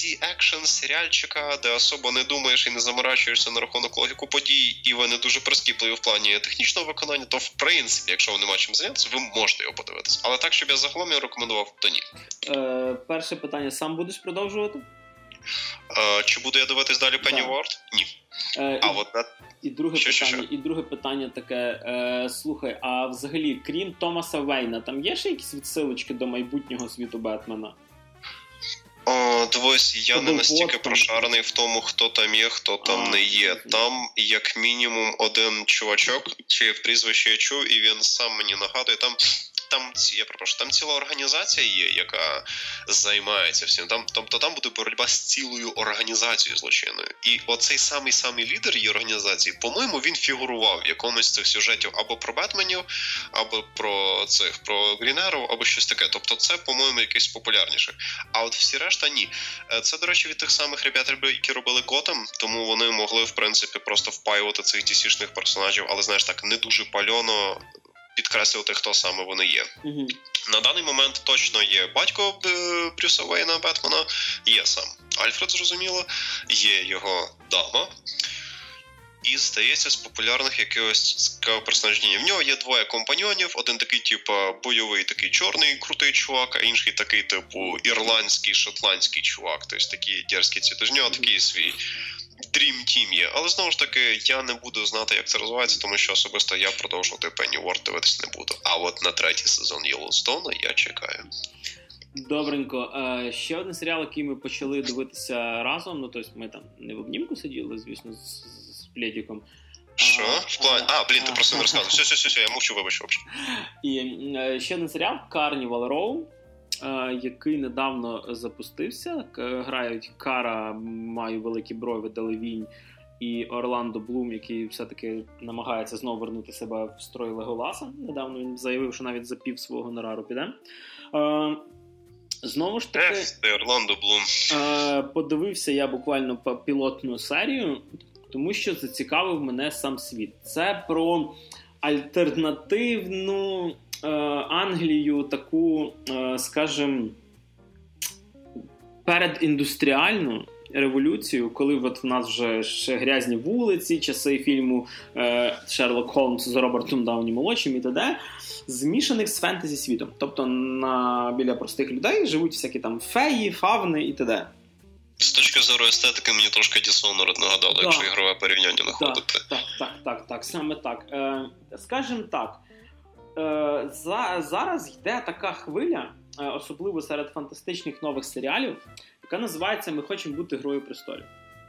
ізі-екшен серіальчика, де особо не думаєш і не заморачуєшся на рахунок логіку подій, і вони дуже прискіпливі в плані технічного виконання, то в принципі, якщо ви нема чим зайнятися, ви можете його подивитися. Але так, щоб я загалом його рекомендував, то ні. Перше питання, сам будеш продовжувати? Чи буду я дивитись далі Pennyworth? Ні. І друге питання таке, слухай, а взагалі, крім Томаса Вейна, там є ще якісь відсилочки до майбутнього світу Бетмена? Дивись, я не настільки прошарений в тому, хто там є, хто там не є. Там, як мінімум, один чувачок, чиє прізвище я чув, і він сам мені нагадує, там ціла організація є, яка займається всім. Тобто там буде боротьба з цілою організацією злочинною. І оцей самий лідер її організації, по-моєму, він фігурував в якомусь з цих сюжетів або про Бетменів, або про Грінеров, або щось таке. Тобто це, по-моєму, якесь популярніше. А от всі решта ні. Це, до речі, від тих самих ребят, які робили Готэм, тому вони могли, в принципі, просто впаювати цих DC-шних персонажів, але, знаєш, так, не дуже пальоно підкреслювати, хто саме вони є. Угу. На даний момент точно є батько Брюса Вейна, Бетмена, є сам Альфред, зрозуміло, є його дама. І, здається, з популярних якогось цікавого персонажів. В нього є двоє компаньйонів. Один такий, бойовий, такий чорний, крутий чувак, а інший такий, ірландський, шотландський чувак. Тобто такі дерзкі ці. Тож в нього такий свій Dream Team є. Але, знову ж таки, я не буду знати, як це розвивається, тому що особисто я продовжувати Pennyworth дивитися не буду. А от на 3-й сезон Єллоустоуна я чекаю. Добренько. Ще один серіал, який ми почали дивитися разом. Ну, тобто ми там не в обнімку сиділи, звісно, з Плєдіком. Що? В плані? Ти просто не розказував. Все, я мовчу, вибач. І ще один серіал Carnival Row, який недавно запустився. Грають Кара, маю великі брови, Делевінь і Орландо Блум, який все-таки намагається знову вернути себе в строй Леголаса. Недавно він заявив, що навіть за пів свого гонорару піде. Знову ж таки, Орландо Блум. Подивився я буквально пілотну серію, тому що зацікавив мене сам світ. Це про альтернативну Англію, таку, скажімо, передіндустріальну революцію, коли от в нас вже ще грязні вулиці, часи фільму Шерлок Холмс з Робертом Дауні молодшим і т.д., змішаних з фентезі світом. Тобто біля простих людей живуть всякі там феї, фавни і т.д. З точки зору естетики мені трошки Dishonored нагадало, якщо ігрове порівняння знаходити. Так, саме так. Скажімо так, зараз йде така хвиля, особливо серед фантастичних нових серіалів, яка називається «Ми хочемо бути Грою престолів».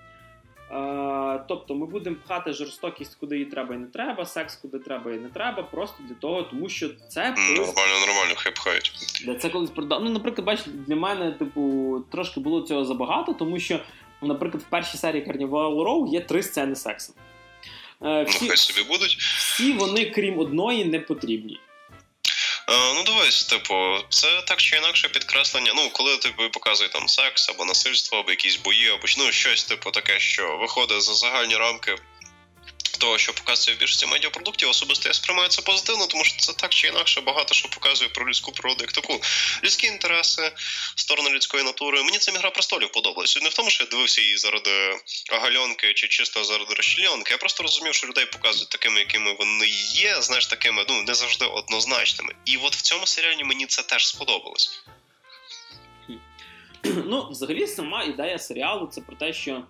Тобто ми будемо пхати жорстокість, куди їй треба і не треба, секс, куди треба і не треба, просто для того, тому що це... Нормально, хай пхають. Це колись продав. Ну, наприклад, бачите, для мене, трошки було цього забагато, тому що, наприклад, в першій серії Carnival Row є 3 сцени сексу. Хай собі будуть. Всі вони, крім одної, не потрібні. Дивись, це так чи інакше підкреслення, коли тобі показує там секс, або насильство, або якісь бої, або щось таке, що виходить за загальні рамки того, що показує в більшості медіапродуктів, особисто я сприймаю це позитивно, тому що це так чи інакше багато що показує про людську природу, як таку. Людські інтереси, сторони людської натури. Мені ця «Гра престолів» подобалась. Не в тому, що я дивився її заради гальонки чи чисто заради розчленки. Я просто розумів, що людей показують такими, якими вони є, знаєш, такими, не завжди однозначними. І от в цьому серіалі мені це теж сподобалось. Взагалі, сама ідея серіалу – це про те, що...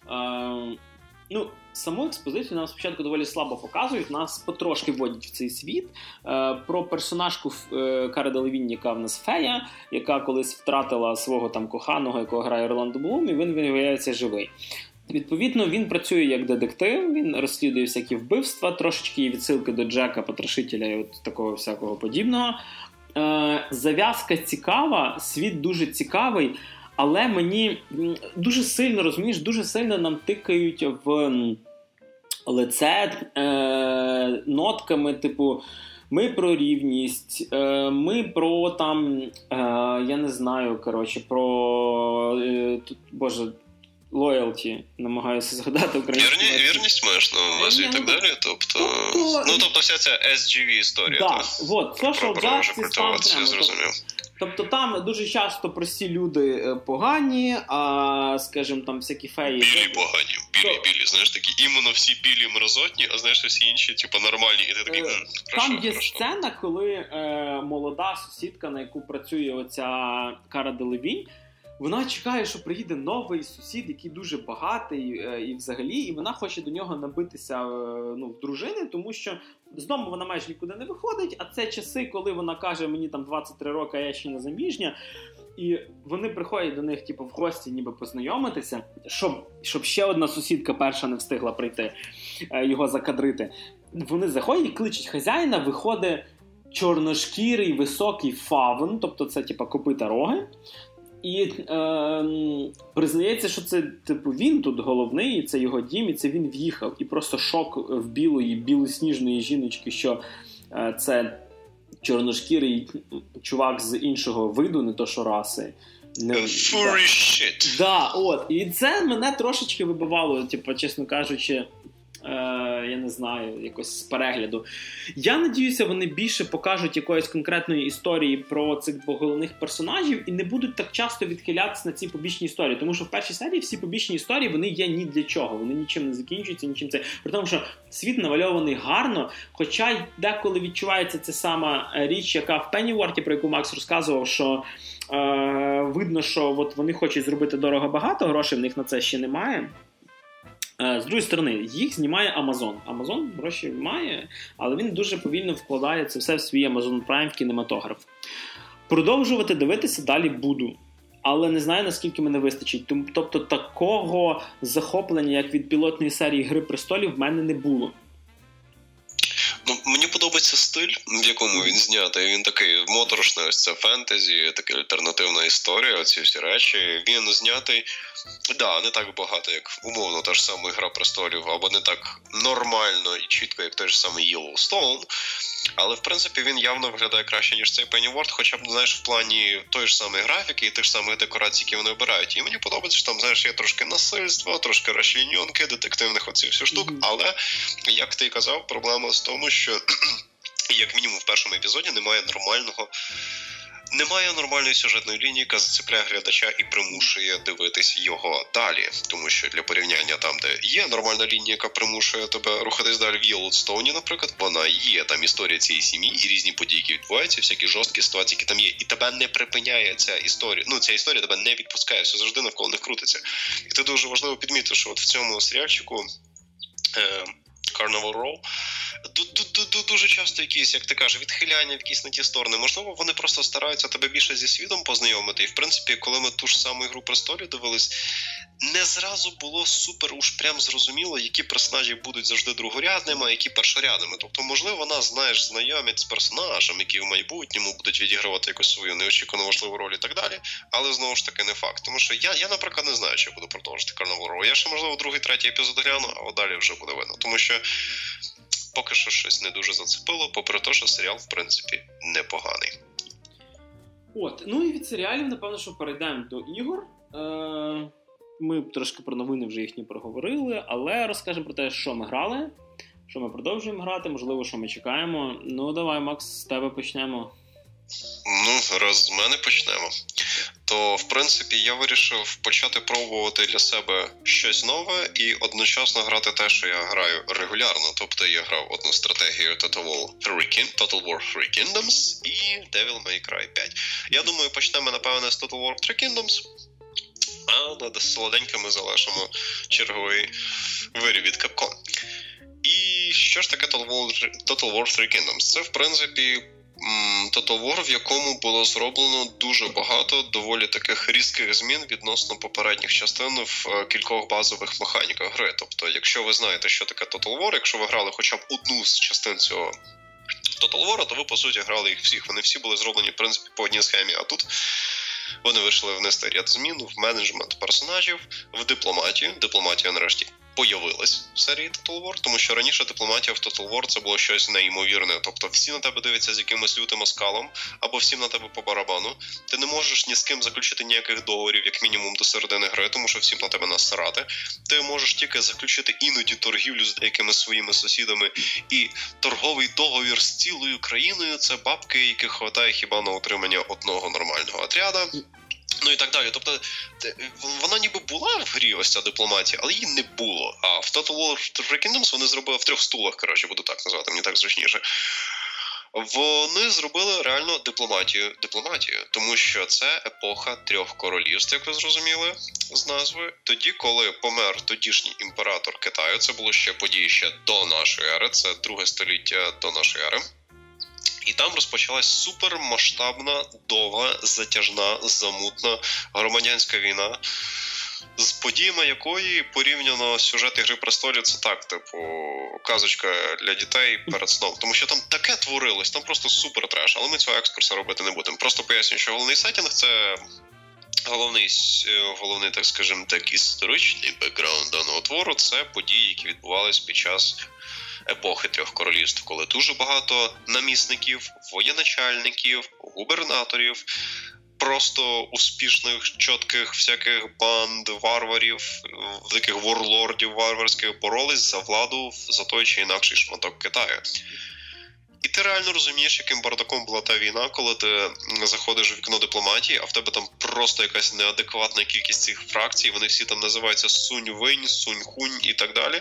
саму експозицію нам спочатку доволі слабо показують, нас потрошки вводять в цей світ. Про персонажку Кари Делевінь, яка в нас фея, яка колись втратила свого там коханого, якого грає Орландо Блум, і він виявляється живий. Відповідно, він працює як детектив, він розслідує всякі вбивства, трошечки є відсилки до Джека Потрошителя і от такого всякого подібного. Зав'язка цікава, світ дуже цікавий, але мені дуже сильно, розумієш, дуже сильно нам тикають в лице нотками, ми про рівність, ми про там, я не знаю, loyalty, намагаюся згадати українською. Вірність маєш на увазі і так далі? Тобто вся ця SGV історія. Так, social justice, я зрозумів. Тобто там дуже часто прості люди погані, а, скажімо, там всякі феї... Білі погані, білі, знаєш, такі іменно всі білі мерзотні, а знаєш, всі інші, типу, нормальні, і ти такий, Там є сцена, коли молода сусідка, на яку працює оця Кара Делевінь, вона чекає, що приїде новий сусід, який дуже багатий і взагалі, і вона хоче до нього набитися в дружини, тому що з дому вона майже нікуди не виходить, а це часи, коли вона каже, мені там 23 роки, а я ще не заміжня, і вони приходять до них в гості ніби познайомитися, щоб ще одна сусідка перша не встигла прийти, його закадрити. Вони заходять, кличуть хазяїна, виходить чорношкірий високий фавн, тобто це копита роги, і признається, що це він тут головний, і це його дім, і це він в'їхав. І просто шок в білосніжної жіночки, що це чорношкірий чувак з іншого виду, не то що раси. Furry shit. Да, от. І це мене трошечки вибивало, чесно кажучи, я не знаю, якось з перегляду. Я надіюся, вони більше покажуть якоїсь конкретної історії про цих двох головних персонажів і не будуть так часто відхилятися на ці побічні історії. Тому що в першій серії всі побічні історії, вони є ні для чого. Вони нічим не закінчуються, нічим це. При тому, що світ намальований гарно, хоча й деколи відчувається ця сама річ, яка в Пенніворті, про яку Макс розказував, що видно, що от вони хочуть зробити дорого-багато, грошей в них на це ще немає. З другої сторони, їх знімає Amazon. Amazon гроші має, але він дуже повільно вкладає це все в свій Amazon Prime в кінематограф. Продовжувати дивитися далі буду. Але не знаю, наскільки мене вистачить. Тобто такого захоплення, як від пілотної серії «Гри престолів», в мене не було. Мені подобається стиль, в якому він знятий. Він такий моторошний, ось це фентезі, така альтернативна історія, оці всі речі. Він знятий, не так багато, як умовно та ж сама «Гра престолів», або не так нормально і чітко, як той ж самий Yellowstone. Але, в принципі, він явно виглядає краще, ніж цей Pennyworth, хоча б, знаєш, в плані тої ж самої графіки і тих ж самих декорацій, які вони обирають. І мені подобається, що там, знаєш, є трошки насильства, трошки розчленьонки, детективних оцих всіх штук. Але, як ти і казав, проблема в тому, що, як мінімум, в першому епізоді немає нормальної сюжетної лінії, яка зацепляє глядача і примушує дивитись його далі. Тому що для порівняння там, де є нормальна лінія, яка примушує тебе рухатись далі в Yellowstone, наприклад, вона є. Там історія цієї сім'ї і різні події, які відбуваються, всякі жорсткі ситуації, які там є. І тебе не припиняє ця історія. Ця історія тебе не відпускає, все завжди навколо них крутиться. І ти дуже важливо підмітити, що от в цьому серіальчику Carnival Row дуже часто якісь, як ти кажеш, відхиляння в якісь на ті сторони. Можливо, вони просто стараються тебе більше зі світом познайомити. І, в принципі, коли ми ту ж саму «Ігру престолів» дивились, не зразу було супер уж прям зрозуміло, які персонажі будуть завжди другорядними, а які першорядними. Тобто, можливо, нас, знайомять з персонажем, які в майбутньому будуть відігравати якусь свою неочікувану важливу роль і так далі. Але, знову ж таки, не факт. Тому що я наприклад, не знаю, чи я буду продовжити Carnival Row. Я ще, можливо, другий, третій епізод гляну, а далі вже буде видно. Тому що поки що щось не дуже зацепило, попри те, що серіал, в принципі, непоганий. І від серіалів, напевно, що перейдемо до ігор. Ми трошки про новини вже їхні проговорили, але розкажемо про те, що ми грали, що ми продовжуємо грати, можливо, що ми чекаємо. Давай, Макс, з тебе почнемо. Раз з мене почнемо, то, в принципі, я вирішив почати пробувати для себе щось нове і одночасно грати те, що я граю регулярно. Тобто я грав одну стратегію Total War 3 Kingdoms і Devil May Cry 5. Я думаю, почнемо, напевне, з Total War 3 Kingdoms, а над солоденькими залишимо черговий виріб від Capcom. І що ж таке Total War 3 Kingdoms? Це, в принципі, Total War, в якому було зроблено дуже багато доволі таких різких змін відносно попередніх частин в кількох базових механіках гри. Тобто, якщо ви знаєте, що таке Total War, якщо ви грали хоча б одну з частин цього Total War, то ви, по суті, грали їх всіх. Вони всі були зроблені, в принципі, по одній схемі, а тут вони вийшли внести ряд змін в менеджмент персонажів, в дипломатію. Дипломатія, нарешті, появилась в серії Total War, тому що раніше дипломатія в Total War це було щось неймовірне. Тобто всі на тебе дивляться з якимось лютим оскалом, або всім на тебе по барабану. Ти не можеш ні з ким заключити ніяких договорів, як мінімум до середини гри, тому що всім на тебе насрати. Ти можеш тільки заключити іноді торгівлю з деякими своїми сусідами, і торговий договір з цілою країною – це бабки, яких хватає хіба на утримання одного нормального отряда. Ну і так далі. Тобто, вона ніби була в грі, ось ця дипломатія, але її не було. А в Total War Three Kingdoms вони зробили в 3 стулах, коротше, буду так назвати, мені так зручніше. Вони зробили реально дипломатію, тому що це епоха 3 королівств, як ви зрозуміли з назви. Тоді, коли помер тодішній імператор Китаю, це було ще події ще до нашої ери, це 2 століття до нашої ери. І там розпочалась супермасштабна, довга, затяжна, замутна громадянська війна, з подіями якої порівняно сюжет «Ігри престолів» це так, типу, казочка для дітей перед сном. Тому що там таке творилось, там просто супер треш, але ми цього екскурсу робити не будемо. Просто пояснюю, що головний сеттінг – це головний, так скажімо, так, історичний бекграунд даного твору – це події, які відбувались під час епохи 3 королівств, коли дуже багато намісників, воєначальників, губернаторів, просто успішних, чітких всяких банд, варварів, таких ворлордів варварських боролись за владу за той чи інакший шматок Китаю. І ти реально розумієш, яким бардаком була та війна, коли ти заходиш в вікно дипломатії, а в тебе там просто якась неадекватна кількість цих фракцій, вони всі там називаються Сунь-Винь, Сунь-Хунь і так далі.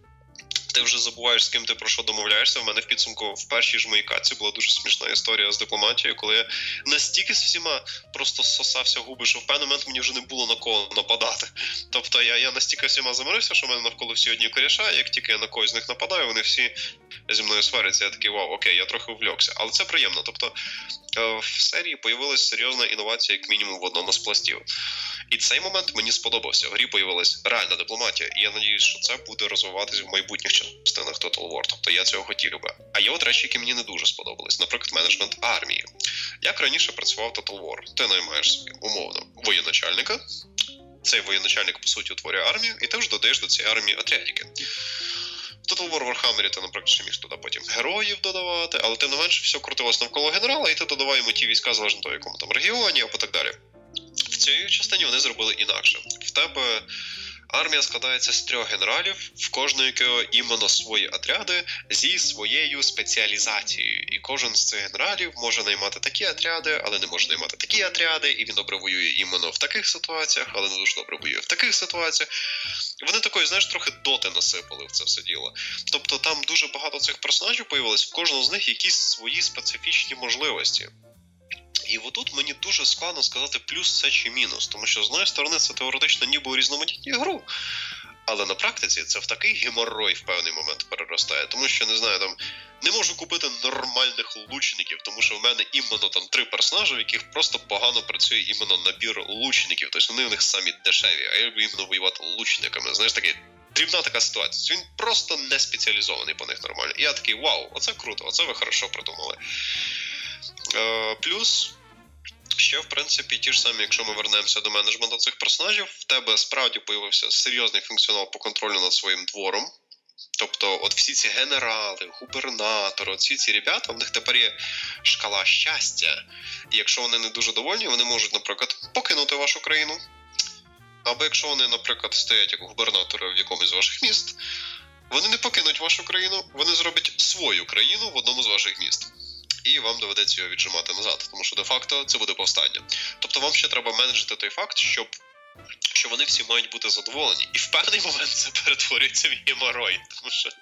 Ти вже забуваєш, з ким ти про що домовляєшся. В мене в підсумку в першій ж моїй катці була дуже смішна історія з дипломатією, коли я настільки з всіма просто сосався губи, що в певний момент мені вже не було на кого нападати. Тобто я настільки всіма замирився, що в мене навколо всі одні коріша, як тільки я на когось з них нападаю, вони всі зі мною сваряться. Я такий, вау, окей, я трохи увлекся. Але це приємно. Тобто в серії появилась серйозна інновація, як мінімум, в одному з пластів. І цей момент мені сподобався. В грі появилась реальна дипломатія. І я надіюсь, що це буде розвиватись в майбутніх частинах Total War. Тобто я цього хотів би. А є от речі, які мені не дуже сподобались. Наприклад, менеджмент армії. Як раніше працював Total War? Ти наймаєш собі, умовно, воєначальника. Цей воєначальник, по суті, утворює армію. І ти вже додаєш до цієї армії отрядики. В Total War Warhammer ти, наприклад, ще міг туди потім героїв додавати, але тим не менше все крутилось навколо генерала, і ти додавай йому ті війська, залежно від того, в якому там регіоні, або так далі. В цій частині вони зробили інакше. В тебе армія складається з 3 генералів, в кожного якого іменно свої отряди зі своєю спеціалізацією. І кожен з цих генералів може наймати такі отряди, але не може наймати такі отряди, і він добре воює іменно в таких ситуаціях, але не дуже добре воює в таких ситуаціях. Вони такої, знаєш, трохи доти насипали в це все діло. Тобто там дуже багато цих персонажів появилось, в кожного з них якісь свої специфічні можливості. І отут мені дуже складно сказати плюс це чи мінус, тому що з однієї сторони це теоретично ніби урізноманітнює гру, але на практиці це в такий геморрой в певний момент переростає, тому що, не знаю, там не можу купити нормальних лучників, тому що в мене іменно там 3 персонажі, в яких просто погано працює іменно набір лучників, тобто вони в них самі дешеві, а я люблю іменно воювати лучниками, знаєш, такий дрібна така ситуація, він просто не спеціалізований по них нормально. І я такий, вау, оце круто, оце ви хорошо придумали. Плюс, ще, в принципі, ті ж самі, якщо ми вернемося до менеджменту цих персонажів, в тебе справді появився серйозний функціонал по контролю над своїм двором. Тобто, от всі ці генерали, губернатори, всі ці ребята, в них тепер є шкала щастя. І якщо вони не дуже довольні, вони можуть, наприклад, покинути вашу країну. Або якщо вони, наприклад, стоять як губернатори в якомусь з ваших міст, вони не покинуть вашу країну, вони зроблять свою країну в одному з ваших міст. І вам доведеться його віджимати назад, тому що де-факто це буде повстання. Тобто вам ще треба менеджити той факт, що вони всі мають бути задоволені. І в певний момент це перетворюється в геморрой, тому що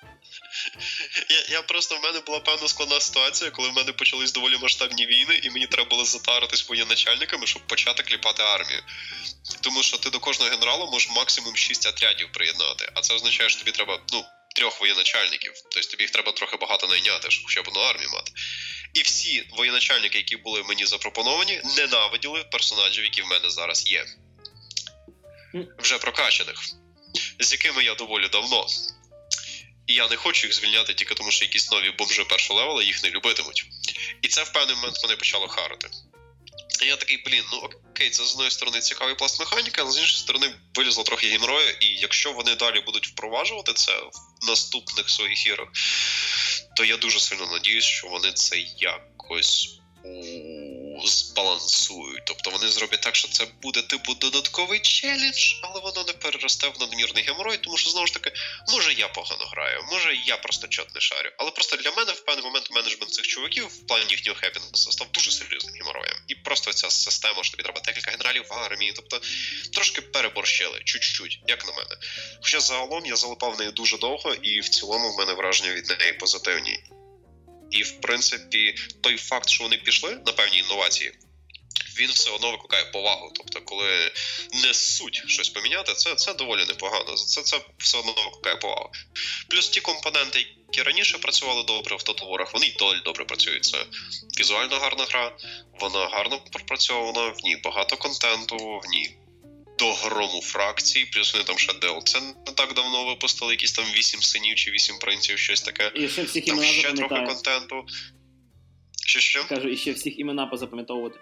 в мене була певна складна ситуація, коли в мене почались доволі масштабні війни, і мені треба було затаритись воєначальниками, щоб почати кліпати армію. Тому що ти до кожного генерала можеш максимум 6 отрядів приєднати, а це означає, що тобі треба, 3 воєначальників. Тобто тобі їх треба трохи багато найняти, щоб хоча б одну армію мати. І всі воєначальники, які були мені запропоновані, ненавиділи персонажів, які в мене зараз є. Вже прокачаних. З якими я доволі давно. І я не хочу їх звільняти тільки тому, що якісь нові бомжи першого левела їх не любитимуть. І це в певний момент мене почало харити. І я такий, окей, це з одної сторони цікавий пласт механіки, але з іншої сторони вилізло трохи геморою, і якщо вони далі будуть впроваджувати це в наступних своїх іграх, то я дуже сильно надіюсь, що вони це якось збалансують. Тобто вони зроблять так, що це буде типу додатковий челендж, але воно не переросте в надмірний геморой, тому що, знову ж таки, може я погано граю, може я просто чот не шарю. Але просто для мене в певний момент менеджмент цих чуваків в плані їхнього хеппінесу став дуже серйозним гемороєм. І просто ця система, що тобі треба декілька генералів в армії, тобто трошки переборщили, чуть-чуть, як на мене. Хоча загалом я залипав в неї дуже довго, і в цілому в мене враження від неї позитивні. І, в принципі, той факт, що вони пішли на певні інновації, він все одно викликає повагу. Тобто, коли не суть щось поміняти, це доволі непогано. Це все одно викликає повагу. Плюс ті компоненти, які раніше працювали добре в Total War'ах, вони й далі добре працюють. Це візуально гарна гра, вона гарно пропрацьована, в ній багато контенту, в ній до грому фракцій, плюс вони там ще DLC не так давно випустили, якісь там 8 синів чи 8 принців, щось таке. І ще всіх там імена ще трохи контенту. Що? Кажу, і ще всіх імена позапам'ятовувати.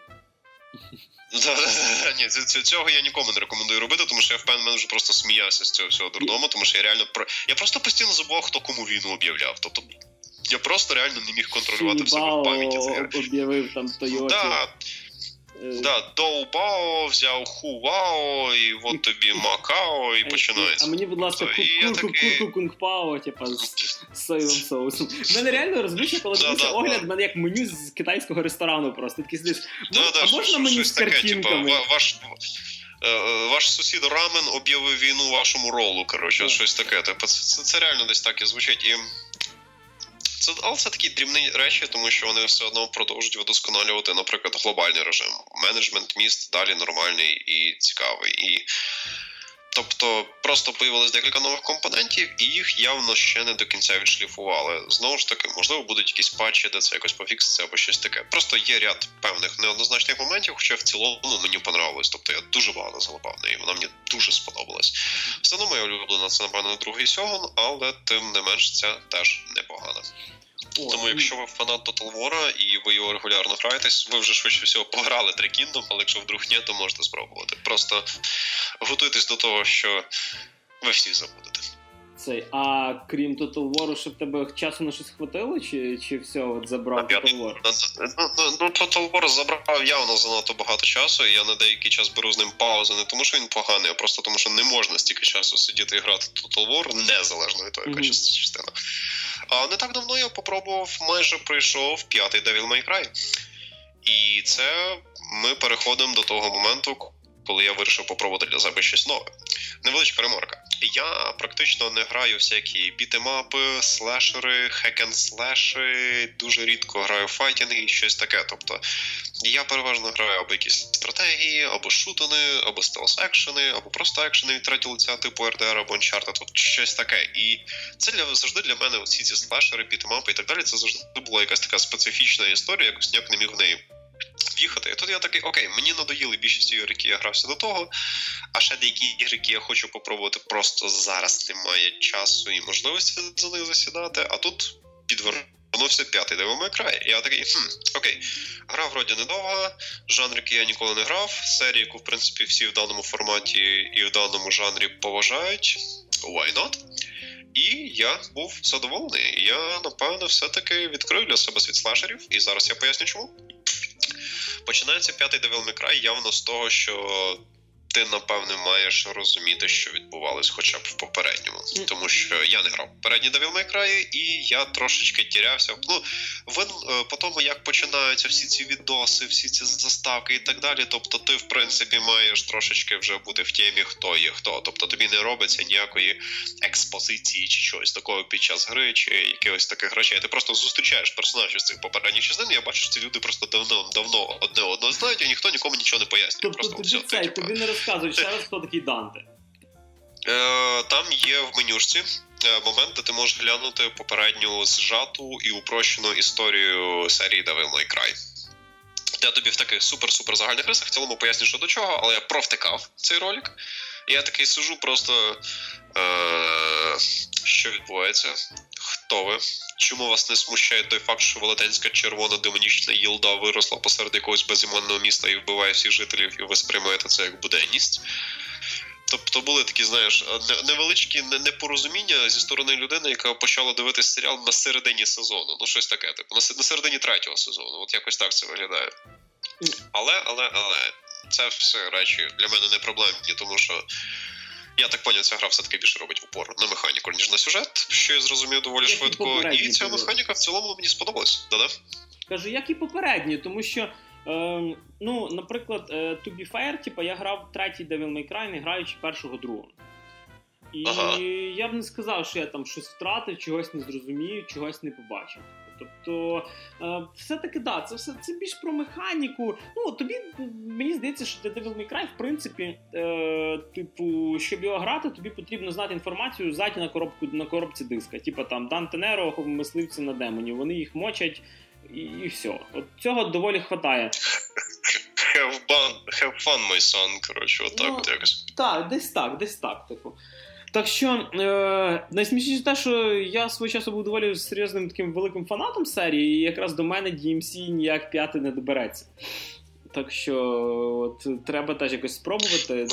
Ні, цього я нікому не рекомендую робити, тому що я впевнений, вже просто сміявся з цього всього дурдому, тому що я просто постійно забував, хто кому війну об'являв. Тобто я просто реально не міг контролювати в себе в пам'яті. Об'явив там Тойоті. Доу-Бао взяв Ху-Вао, і от тобі Макао, і починається. А мені, будь ласка, Курку-Кунг-Пао, типа, з соєвим соусом. В мене реально розбився, коли дивився огляд, в мене як меню з китайського ресторану просто. Такий сидиш, а можна меню з картинками? Ваш сусід рамен об'явив війну вашому ролу, коротше, щось таке. Це реально десь так і звучить. Але це такі дрібні речі, тому що вони все одно продовжують вдосконалювати, наприклад, глобальний режим. Менеджмент міст далі нормальний і цікавий. Тобто просто появилось декілька нових компонентів, і їх явно ще не до кінця відшліфували. Знову ж таки, можливо, будуть якісь патчі, де це якось пофікситься або щось таке. Просто є ряд певних неоднозначних моментів, хоча в цілому мені понравилось. Тобто я дуже багато залипав на неї, вона мені дуже сподобалась. Все одно моя улюблена це, напевно, другий сьогун, але тим не менш це теж непогано. Тому якщо ви фанат Total War і ви його регулярно граєтесь, ви вже швидше всього пограли Three Kingdom, але якщо вдруг ні, то можете спробувати. Просто готуйтесь до того, що ви всі забудете. А крім Total War, щоб тебе часу на щось хватило, чи все, от забрав Total War? Total War забрав явно занадто багато часу, і я на деякий час беру з ним паузи, не тому що він поганий, а просто тому що не можна стільки часу сидіти і грати Total War, незалежно від того, яка частина. А не так давно я майже пройшов 5-й Devil May Cry. І це ми переходимо до того моменту, коли я вирішив попробувати для себе щось нове. Невеличка ремарка. Я практично не граю всякі бітемапи, слешери, хек-н-слеші, дуже рідко граю файтінги і щось таке. Тобто я переважно граю або якісь стратегії, або шутани, або стелс-екшени, або просто екшени від третього лиця типу RDR або Uncharted, тобто щось таке. І це завжди для мене всі ці слешери, бітемапи і так далі, це завжди була якась така специфічна історія, якось ніяк не міг в неї в'їхати. І тут я такий, окей, мені надоїли більшість ігор, які я грався до того, а ще деякі ігри, які я хочу попробувати, просто зараз немає часу і можливості за них засідати, а тут підвернувся 5-й Devil May Cry. І я такий, окей, гра вроді недовга, жанр, який я ніколи не грав, серія, яку, в принципі, всі в даному форматі і в даному жанрі поважають, why not? І я був задоволений. Я, напевно, все-таки відкрив для себе світ слешерів, і зараз я поясню чому. Починається 5-й Devil May Cry явно з того, що ти, напевне, маєш розуміти, що відбувалось хоча б в попередньому. Тому що я не грав попередній Devil May Cry, і я трошечки тірявся. По тому, як починаються всі ці відоси, всі ці заставки і так далі, тобто ти, в принципі, маєш трошечки вже бути в темі, хто є хто. Тобто тобі не робиться ніякої експозиції чи чогось такого під час гри, чи якихось таких речей. Ти просто зустрічаєш персонажів з цих попередніх частин, і я бачу, що ці люди просто давно одне одного знають, і ніхто нікому нічого не пояснює. Тобто тобі не розказують ще раз, хто такий Данте. Там є в менюшці момент, де ти можеш глянути попередню зжату і упрощену історію серії Devil May Cry. Я тобі в таких супер-супер загальних рисах в цілому поясню, що до чого, але я провтикав цей ролик. І я такий сижу просто, що відбувається? Хто ви? Чому вас не смущає той факт, що велетенська червона демонічна їлда виросла посеред якогось безіменного міста і вбиває всіх жителів, і ви сприймаєте це як буденність? Тобто були такі, знаєш, невеличкі непорозуміння зі сторони людини, яка почала дивитися серіал на середині сезону. Ну, щось таке, типу, на середині 3-го сезону. От якось так це виглядає. Але, це все речі для мене не проблемні, тому що я так поняв, ця гра все-таки більше робить упор на механіку, ніж на сюжет, що я зрозумів доволі швидко. І ця механіка в цілому мені сподобалась. Да-да? Кажу, як і попередні, тому що, наприклад, to be fair, я грав третій Devil May Cry, не граючи першого-другого. І я б не сказав, що я там щось втратив, чогось не зрозумів, чогось не побачив. Тобто, все-таки, це більш про механіку. Ну, тобі, мені здається, що для Devil May Cry, в принципі, щоб його грати, тобі потрібно знати інформацію ззаді на коробці диска. Типа там Данте Неро, мисливці на демонів, вони їх мочать і все. От цього доволі хватає. Have fun, my son, коротше, отак от якось. Так, десь так, типу. Так що, найсмішніше те, що я свого часу був доволі серйозним таким великим фанатом серії, і якраз до мене DMC ніяк 5 не добереться. Так що, от, треба теж якось спробувати.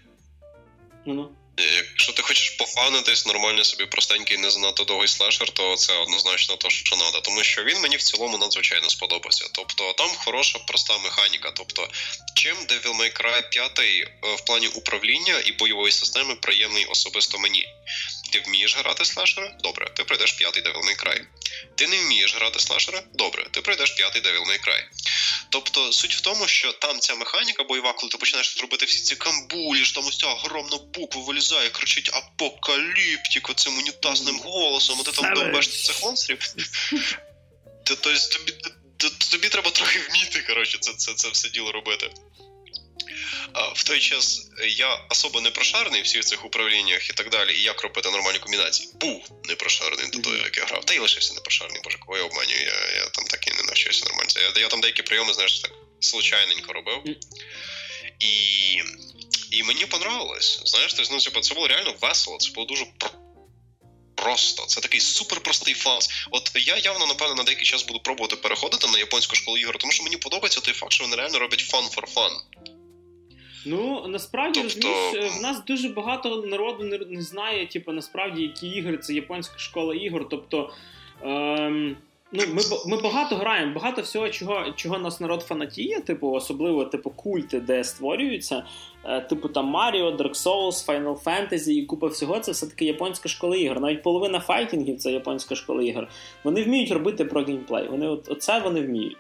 Якщо ти хочеш пофанитись, нормально собі простенький, не занадто довгий слешер, то це однозначно те, що треба. Тому що він мені в цілому надзвичайно сподобався. Тобто там хороша, проста механіка. Тобто, чим Devil May Cry 5 в плані управління і бойової системи приємний особисто мені. Ти вмієш грати слешери? Добре, ти пройдеш 5-й Devil May Cry. Ти не вмієш грати слешери? Добре, ти пройдеш 5-й Devil May Cry. Тобто, суть в тому, що там ця механіка бойова, коли ти починаєш робити всі ці камбулі, що там ось ця огромна буква вилізає, кричить апокаліптик оцим унітазним голосом, а ти там довбеш цих монстрів. Тобто, тобі треба трохи вміти, коротше, це все діло робити. В той час я особо не прошарений в всіх цих управліннях і так далі, і як робити нормальні комбінації. Був не прошарений до того, як я грав. Та й лишився не прошарений, боже, кого я обманюю, я там так і не навчився нормально. Я там деякі прийоми, знаєш, так случайненько робив. І мені понравилось. Знаєш, це було реально весело, це було дуже просто. Це такий суперпростий фанс. От я явно, напевно, на деякий час буду пробувати переходити на японську школу ігор, тому що мені подобається той факт, що вони реально роблять fun for fun. Ну, насправді, розумієш, в нас дуже багато народу не знає, насправді, які ігри, це японська школа ігор, тобто, ми багато граємо, багато всього, чого нас народ фанатіє, особливо, культи, де створюються, там Mario, Dark Souls, Final Fantasy і купа всього, це все-таки японська школа ігор, навіть половина файтингів це японська школа ігор, вони вміють робити про геймплей, оце вони вміють.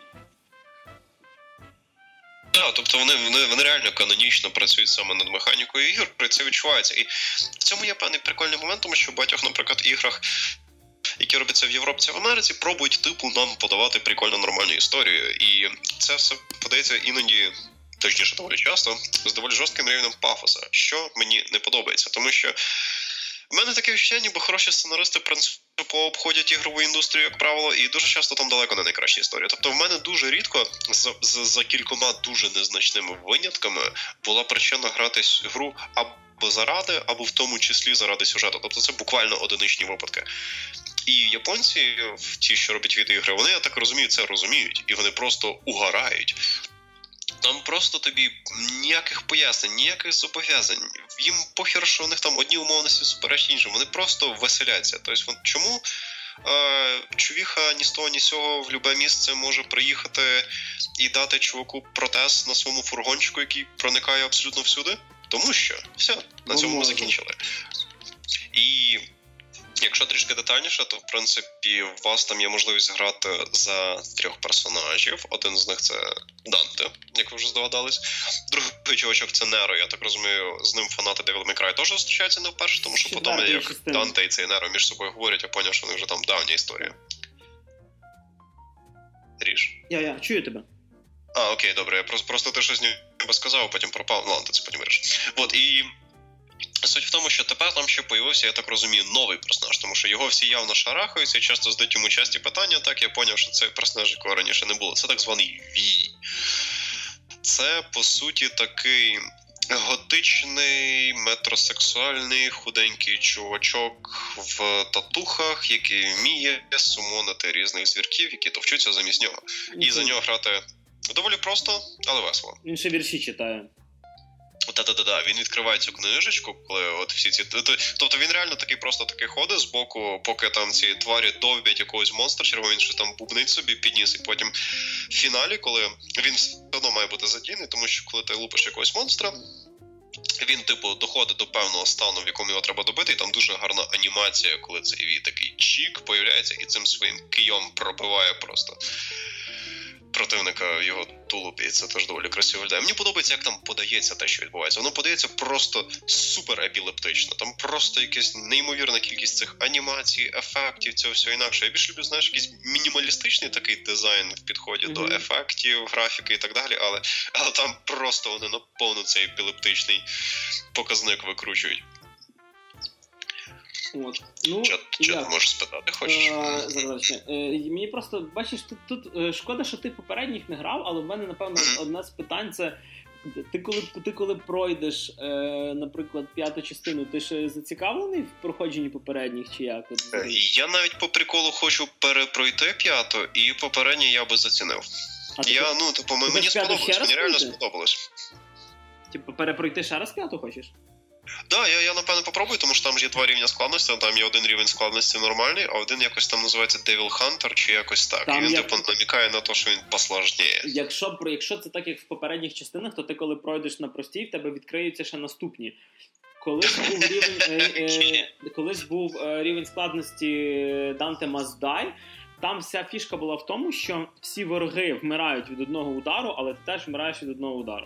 Так, тобто вони реально канонічно працюють саме над механікою ігор, і це відчувається. І в цьому є певний прикольний момент, тому що в багатьох, наприклад, іграх, які робляться в Європі та в Америці, пробують нам подавати прикольну нормальну історію. І це все подається іноді, точніше доволі часто, з доволі жорстким рівнем пафоса, що мені не подобається. Тому що в мене таке відчуття, ніби хороші сценаристи принципово обходять ігрову індустрію, як правило, і дуже часто там далеко не найкращі історії. Тобто в мене дуже рідко, за кількома дуже незначними винятками, була причина грати гру або заради, або в тому числі заради сюжету. Тобто це буквально одиничні випадки. І японці, ті, що роблять відеоігри, вони, я так розумію, це розуміють, і вони просто угорають. Там просто тобі ніяких пояснень, ніяких зобов'язань. Їм похер, що у них там одні умовності суперечать іншим. Вони просто веселяться. Тобто, чому чувіха ні з того, ні з цього в любе місце може приїхати і дати чуваку протез на своєму фургончику, який проникає абсолютно всюди? Тому що все, на цьому ми закінчили. І якщо трішки детальніше, то, в принципі, у вас там є можливість грати за 3 персонажів. Один з них – це Данте, як ви вже здогадались. Другий чувачок – це Неро. Я так розумію, з ним фанати Devil May Cry теж зустрічаються не вперше, тому що потім, як Данте і цей Неро між собою говорять, я поняв, що вони вже там давня історія. Ріж. Я чую тебе. Окей, добре. Я просто ти щось ніби сказав, а потім пропав. Ну ладно, ти це потім вирішиш. От, і суть в тому, що тепер там ще появився, я так розумію, новий персонаж, тому що його всі явно шарахаються і часто задають йому часті питання, так я поняв, що цей персонаж, якого раніше не було. Це так званий Вій. Це, по суті, такий готичний, метросексуальний, худенький чувачок в татухах, який вміє сумонити різних звірків, які товчуться замість нього. І за нього грати доволі просто, але весело. Він ще вірші читає. Та-та-та, він відкриває цю книжечку, коли от всі ці... Тобто він реально такий ходить з боку, поки там ці тварі довбять якогось монстра чергового, він щось там бубнить собі, підніс, і потім в фіналі, коли він все одно має бути задійний, тому що коли ти лупиш якогось монстра, він, доходить до певного стану, в якому його треба добити, і там дуже гарна анімація, коли цей такий чік появляється і цим своїм кийом пробиває просто противника в його тулубі, і це теж доволі красиво виглядає. Мені подобається, як там подається те, що відбувається. Воно подається просто супер епілептично. Там просто якась неймовірна кількість цих анімацій, ефектів, цього всього інакше. Я більше люблю, знаєш, якийсь мінімалістичний такий дизайн в підході до ефектів, графіки і так далі, але там просто вони наповно цей епілептичний показник викручують. От. Що ти можеш спитати, хочеш? Зараз. Мені просто, бачиш, тут шкода, що ти попередніх не грав, але в мене, напевно, одне з питань це ти коли пройдеш, наприклад, 5-ту частину, ти ж зацікавлений в проходженні попередніх, чи як? Я навіть по приколу хочу перепройти 5-ту, і попередні я би зацінив. Мені сподобалось, мені реально сподобалось. Перепройти ще раз 5-ту хочеш? Да, я напевно попробую, тому що там ж є 2 рівня складності, там є один рівень складності нормальний, а один якось там називається Devil Hunter, чи якось так. Там і він намікає на те, що він посложніє. Якщо це так, як в попередніх частинах, то ти коли пройдеш на простій, в тебе відкриються ще наступні. Колись був рівень складності Dante Must Die, там вся фішка була в тому, що всі вороги вмирають від одного удару, але ти теж вмираєш від одного удару.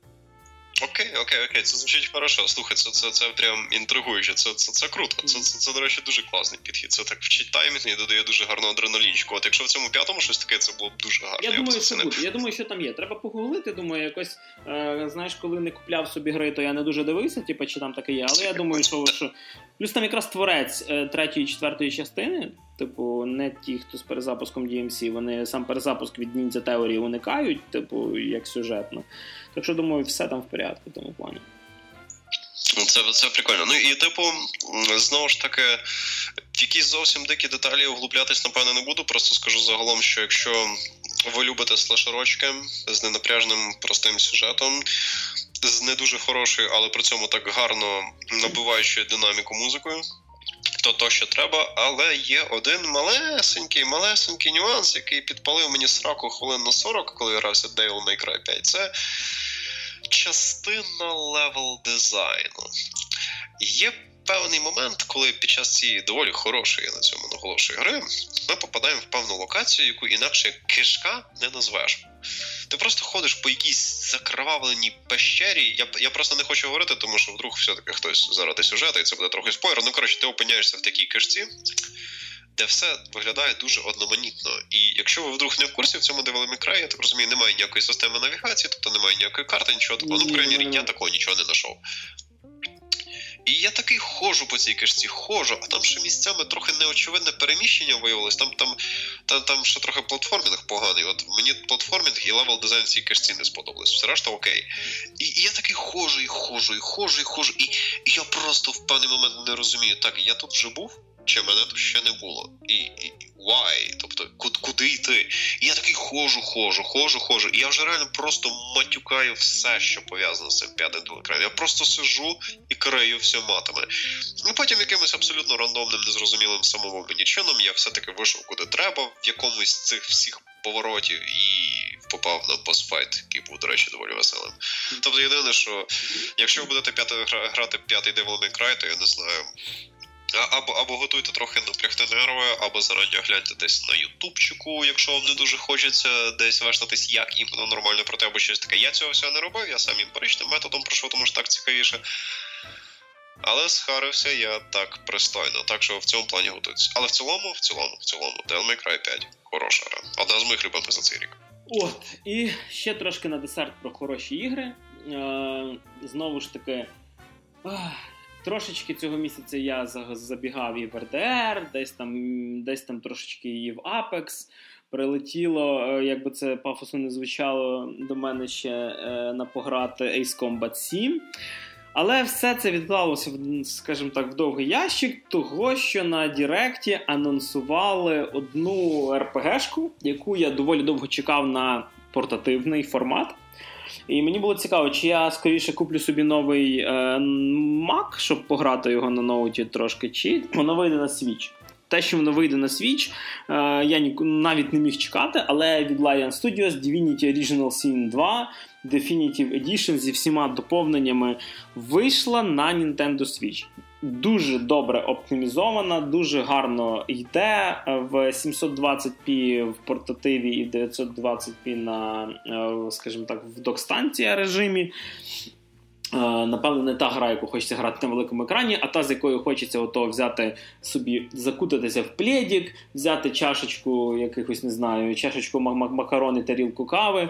Окей, це звучить хорошо. Слухай, це прям інтригуюче, це круто. Це, до речі, дуже класний підхід. Це так вчить таймінг і додає дуже гарного адреналінчику. От якщо в цьому 5-му щось таке, це було б дуже гарно. Я думаю, що там є. Треба погуглити, думаю, якось, знаєш, коли не купляв собі гри, то я не дуже дивився, чи там таке є, але я думаю, що... Плюс там якраз творець 3-ї і 4-ї частини, не ті, хто з перезапуском DMC, вони сам перезапуск від Ninja Theory уникають, як сюжетно. Так що, думаю, все там в порядку в тому плані. Це прикольно. І, знову ж таки, в якісь зовсім дикі деталі углублятись, напевно, не буду. Просто скажу загалом, що якщо ви любите слешерочки з ненапряжним простим сюжетом, з не дуже хорошою, але при цьому так гарно набиваючою динаміку музикою, то що треба, але є один малесенький нюанс, який підпалив мені сраку хвилин на 40, коли грався Devil May Cry 5. Це частина левел дизайну. Є певний момент, коли під час цієї доволі хорошої, на цьому наголошую, гри, ми попадаємо в певну локацію, яку інакше кишка не назвеш. Ти просто ходиш по якійсь закривавленій пещері. Я просто не хочу говорити, тому що вдруг все-таки хтось заради сюжету, і це буде трохи спойлер. Ти опиняєшся в такій кишці, де все виглядає дуже одноманітно. І якщо ви вдруг не в курсі, в цьому Devil May Cry, я так розумію, немає ніякої системи навігації, тобто немає ніякої карти, нічого такого. В крайній мірі, я такого нічого не знайшов. І я такий ходжу по цій кишці, а там ще місцями трохи неочевидне переміщення виявилось, там ще трохи платформінг поганий. От мені платформінг і левел дизайн в цій кишці не сподобались, все решта окей. І я такий ходжу, і я просто в певний момент не розумію, так, я тут вже був? Чи мене тут ще не було? І why? Тобто, куди йти? І я такий ходжу. І я вже реально просто матюкаю все, що пов'язано з цим 5-м екраном. Я просто сижу і крию все матами. І потім якимось абсолютно рандомним, незрозумілим самому мені чином я все-таки вийшов куди треба, в якомусь з цих всіх поворотів і попав на босфайт, який був, до речі, доволі веселим. Тобто, єдине, що якщо ви будете грати 5-й Devil May Cry, то я не знаю... Або готуйте трохи напрягти нерви, або зарані гляньте десь на ютубчику, якщо вам не дуже хочеться десь вештатись, як іменно нормально проти, або щось таке. Я цього всього не робив, я сам емпіричним методом пройшов, тому що так цікавіше. Але схарився я так пристойно, так що в цьому плані готуйтесь. Але в цілому, Devil May Cry 5 хороша гра. Одна з моїх любимих за цей рік. От, і ще трошки на десерт про хороші ігри. Знову ж таки... Трошечки цього місяця я забігав і в RDR, десь там трошечки і в Apex. Прилетіло, як би це пафосно не звучало, до мене ще на пограти Ace Combat 7. Але все це відклалося, скажімо так, в довгий ящик, того, що на Діректі анонсували одну РПГшку, яку я доволі довго чекав на портативний формат. І мені було цікаво, чи я скоріше куплю собі новий Mac, щоб пограти його на ноуті трошки, чи воно вийде на Switch. Те, що воно вийде на Switch, я навіть не міг чекати, але від Larian Studios Divinity Original Sin 2 Definitive Edition зі всіма доповненнями вийшла на Nintendo Switch. Дуже добре оптимізована, дуже гарно йде в 720p в портативі і 920p на, скажімо так, в док-станція режимі. Напевно, не та гра, яку хочеться грати на великому екрані, а та, з якою хочеться ото взяти собі, закутатися в плєдік, взяти чашечку якихось, не знаю, чашечку макарони, тарілку кави,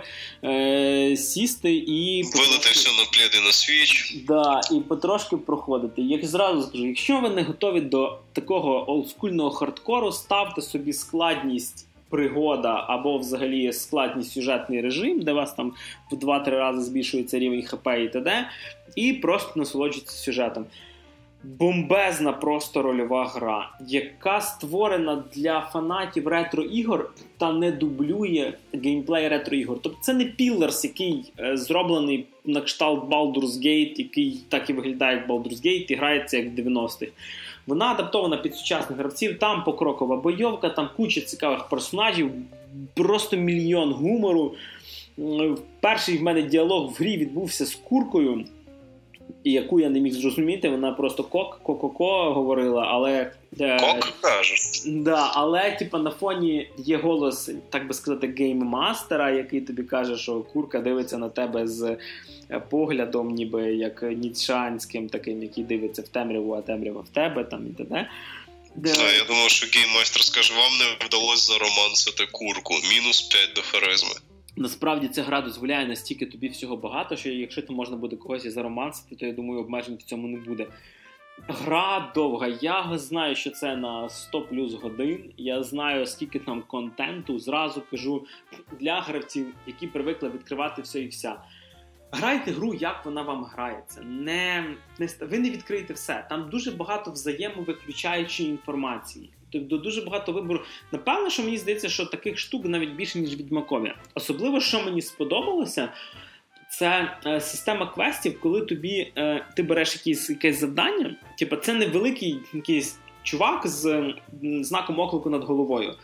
сісти і... Вилити все на плєди на Switch. Да, і потрошки проходити. Як зразу скажу, якщо ви не готові до такого олдскульного хардкору, ставте собі складність пригода або взагалі складний сюжетний режим, де у вас там в 2-3 рази збільшується рівень ХП і т.д. І просто насолоджуйтесь сюжетом. Бомбезна просто рольова гра, яка створена для фанатів ретро-ігор та не дублює геймплей ретро-ігор. Тобто це не Pillars, який зроблений на кшталт Baldur's Gate, який так і виглядає як Baldur's Gate і грається як в 90-х. Вона адаптована під сучасних гравців, там покрокова бойовка, там куча цікавих персонажів, просто мільйон гумору. Перший в мене діалог в грі відбувся з куркою, яку я не міг зрозуміти, вона просто ко-ко-ко говорила, але... Кок каже. Да, але типа на фоні є голос, так би сказати, гейммастера, який тобі каже, що курка дивиться на тебе з поглядом, ніби як ніцшанським таким, який дивиться в темряву, а темрява в тебе, там і т.д. Я думав, що гейммастер скаже, вам не вдалося заромансити курку. Мінус 5 до харизми. Насправді ця гра дозволяє настільки тобі всього багато, що якщо ти можна буде когось і заромансити, то я думаю, обмежень в цьому не буде. Гра довга. Я знаю, що це на 100 плюс годин. Я знаю, скільки там контенту. Зразу кажу для гравців, які привикли відкривати все і вся. Грайте гру, як вона вам грається. Ви не відкриєте все. Там дуже багато взаємовиключаючої інформації. Тобто дуже багато вибору. Напевно, що мені здається, що таких штук навіть більше, ніж в Відьмакові. Особливо, що мені сподобалося, це система квестів, коли ти береш якесь завдання. Типу, це не великий якийсь чувак з знаком оклику над головою.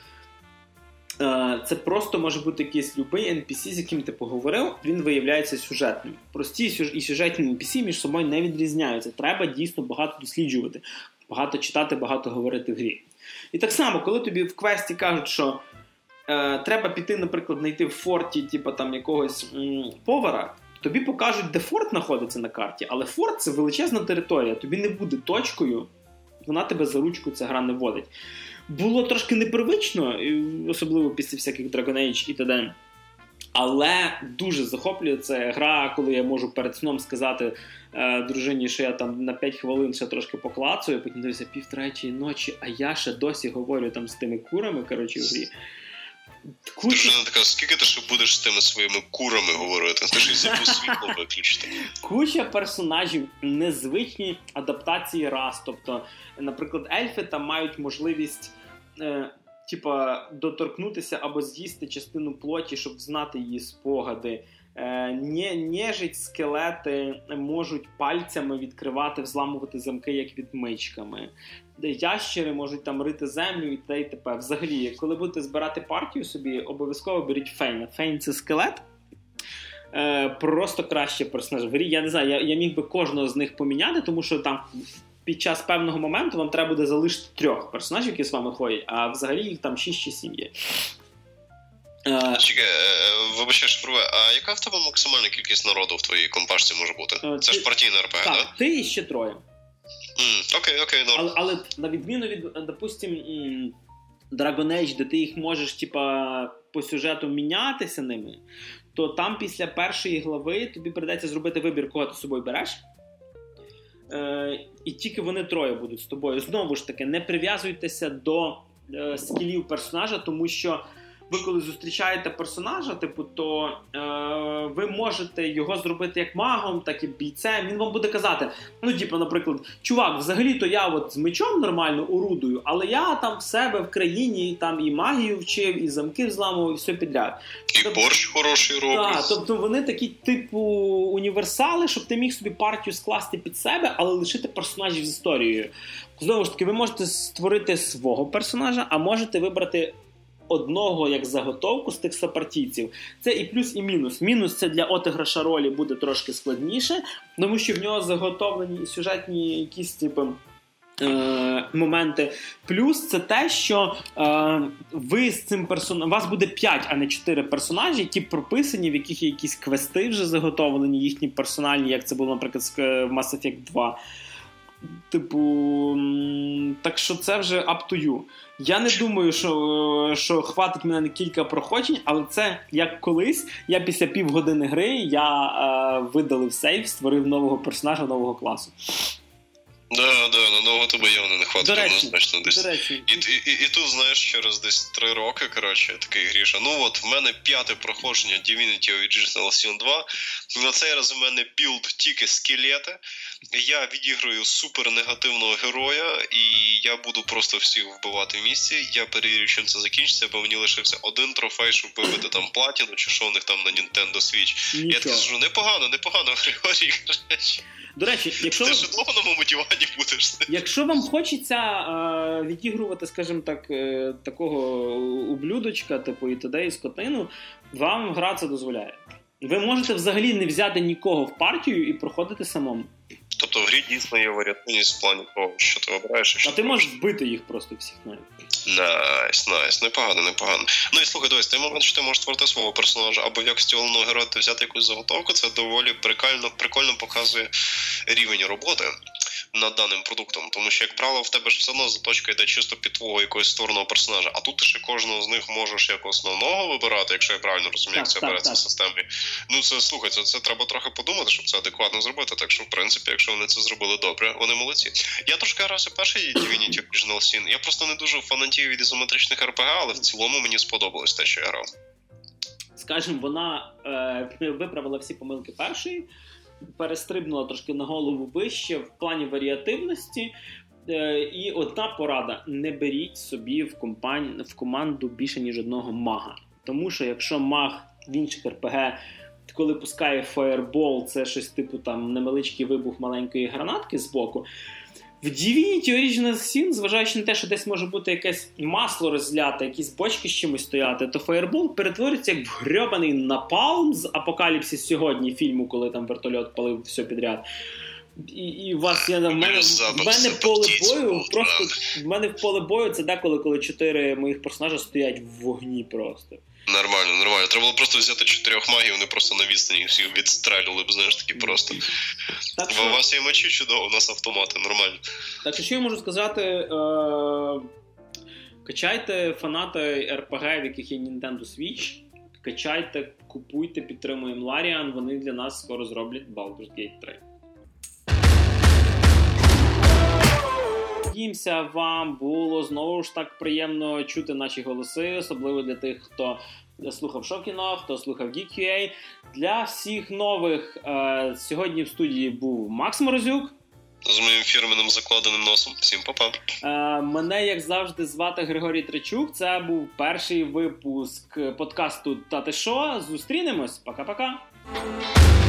Це просто може бути якийсь любий NPC, з яким ти поговорив, він виявляється сюжетним. Прості і сюжетні NPC між собою не відрізняються. Треба дійсно багато досліджувати, багато читати, багато говорити в грі. І так само, коли тобі в квесті кажуть, що треба піти, наприклад, знайти в форті типу, там, якогось повара, тобі покажуть, де форт знаходиться на карті, але форт – це величезна територія, тобі не буде точкою, вона тебе за ручку ця гра не водить. Було трошки непривично, особливо після всяких Dragon Age і т.д. Але дуже захоплює це гра, коли я можу перед сном сказати дружині, що я там на 5 хвилин ще трошки поклацаю, потім дивлюся 2:30 ночі, а я ще досі говорю там з тими курами, коротше, в грі. Дружина така, скільки ти ще будеш з тими своїми курами говорити? Ти ж і забув світло виключити. Куча персонажів, незвичні адаптації рас. Тобто, наприклад, ельфи там мають можливість доторкнутися або з'їсти частину плоті, щоб знати її спогади. Нежить, скелети можуть пальцями відкривати, взламувати замки, як відмичками. Ящери можуть там рити землю і т.д. і т.п. Взагалі, коли будете збирати партію собі, обов'язково беріть Фейна. Фейн – це скелет. Просто краще персонаж в грі. Я не знаю, я міг би кожного з них поміняти, тому що там під час певного моменту вам треба буде залишити 3 персонажів, які з вами ходять, а взагалі їх там 6 чи 7 є. Чекай, вибачай, що а яка в тебе максимальна кількість народу в твоїй компашці може бути? Це ж партійна РПГ, так? Так, ти і ще 3. Окей, норм. Але на відміну від, допустим, Dragon Age, де ти їх можеш по сюжету мінятися ними, то там після першої глави тобі прийдеться зробити вибір, кого ти з собою береш. І тільки вони 3 будуть з тобою. Знову ж таки, не прив'язуйтеся до скілів персонажа, тому що ви коли зустрічаєте персонажа, типу, то ви можете його зробити як магом, так і бійцем. Він вам буде казати, ну, типу, наприклад, чувак, взагалі-то я от з мечом нормально орудую, але я там в себе в країні там і магію вчив, і замки взламував, і все підряд. І борщ хороший роблять. Так, тобто вони такі, типу, універсали, щоб ти міг собі партію скласти під себе, але лишити персонажів з історією. Знову ж таки, ви можете створити свого персонажа, а можете вибрати одного як заготовку з тих сопартійців. Це і плюс, і мінус. Мінус – це для отиграша ролі буде трошки складніше, тому що в нього заготовлені сюжетні якісь, типу, моменти. Плюс це те, що ви з цим персонажем, у вас буде 5, а не 4 персонажі, які прописані, в яких є якісь квести вже заготовлені, їхні персональні, як це було, наприклад, в Mass Effect 2. Типу, так що це вже up to you. Я не думаю, що хватить мене на кілька проходжень, але це як колись, я після півгодини гри, я видалив сейв, створив нового персонажа, нового класу. Да, надовго тебе явно не хватить, однозначно десь. І тут, знаєш, через десь 3 роки, коротше, такий Гріша, ну от, в мене 5-те проходження Divinity Original Sin 2, на цей раз в мене білд тільки скелети, я відіграю супер негативного героя, і я буду просто всіх вбивати в місці, я перевірю, чим це закінчиться, бо мені лишився один трофей, щоб вибити там платіну, чи що у них там на Nintendo Switch. Нічого. Я так скажу, непогано, Григорій, до речі, якщо ти ж довго на моєму дивані будеш. Якщо вам хочеться відігрувати, скажімо так, такого ублюдочка, типу і т.д. і скотину, вам гра це дозволяє. Ви можете взагалі не взяти нікого в партію і проходити самому. Тобто в грі дійсно є варіативність в плані того, що ти обираєш. А ти можеш вбити їх просто всіх навіть. Найс, непогано. Ну і слухай, дивись, ти момент, що ти можеш створити свого персонажа, або в якості головного героя ти взяти якусь заготовку, це доволі прикольно показує рівень роботи над даним продуктом. Тому що, як правило, в тебе ж все одно заточка йде чисто під твого якогось створеного персонажа, а тут ти ще кожного з них можеш як основного вибирати, якщо я правильно розумію, як це береться в системі. Ну це, слухай, це треба трохи подумати, щоб це адекватно зробити, так що, в принципі, якщо вони це зробили добре, вони молодці. Я трошки грався перший Divinity Original Sin, я просто не дуже фанатію від ізометричних РПГ, але в цілому мені сподобалось те, що я грав. Скажем, вона виправила всі помилки першої, перестрибнула трошки на голову вище в плані варіативності. І одна порада: не беріть собі в команду більше, ніж одного мага. Тому що якщо маг в інших РПГ, коли пускає фаєрбол, це щось типу там невеличкий вибух маленької гранатки збоку, в Divinity Original Sin, зважаючи на те, що десь може бути якесь масло розляте, якісь бочки з чимось стояти, то фаєрбол перетворюється як в грьобаний напалм з «Апокаліпсис сьогодні» фільму, коли там вертольот палив все підряд. І у вас в мене поле бою, просто в мене в поле бою це деколи, коли 4 моїх персонажа стоять в вогні просто. Нормально. Треба було просто взяти 4 магів, вони просто на відстані всіх відстрелювали б, знаєш, такі просто. Так, у вас є мечі чудово, у нас автомати, нормально. Так що я можу сказати, качайте фанати РПГ, в яких є Nintendo Switch, качайте, купуйте, підтримуємо Larian, вони для нас скоро зроблять Baldur's Gate 3. Надіємося, вам було знову ж так приємно чути наші голоси, особливо для тих, хто слухав Шокіно, хто слухав Geek.ua. Для всіх нових сьогодні в студії був Макс Морозюк. З моїм фірменним закладеним носом. Всім па-па. Мене, як завжди, звати Григорій Тричук. Це був перший випуск подкасту «Та ти шо?». Зустрінемось. Пока-пока.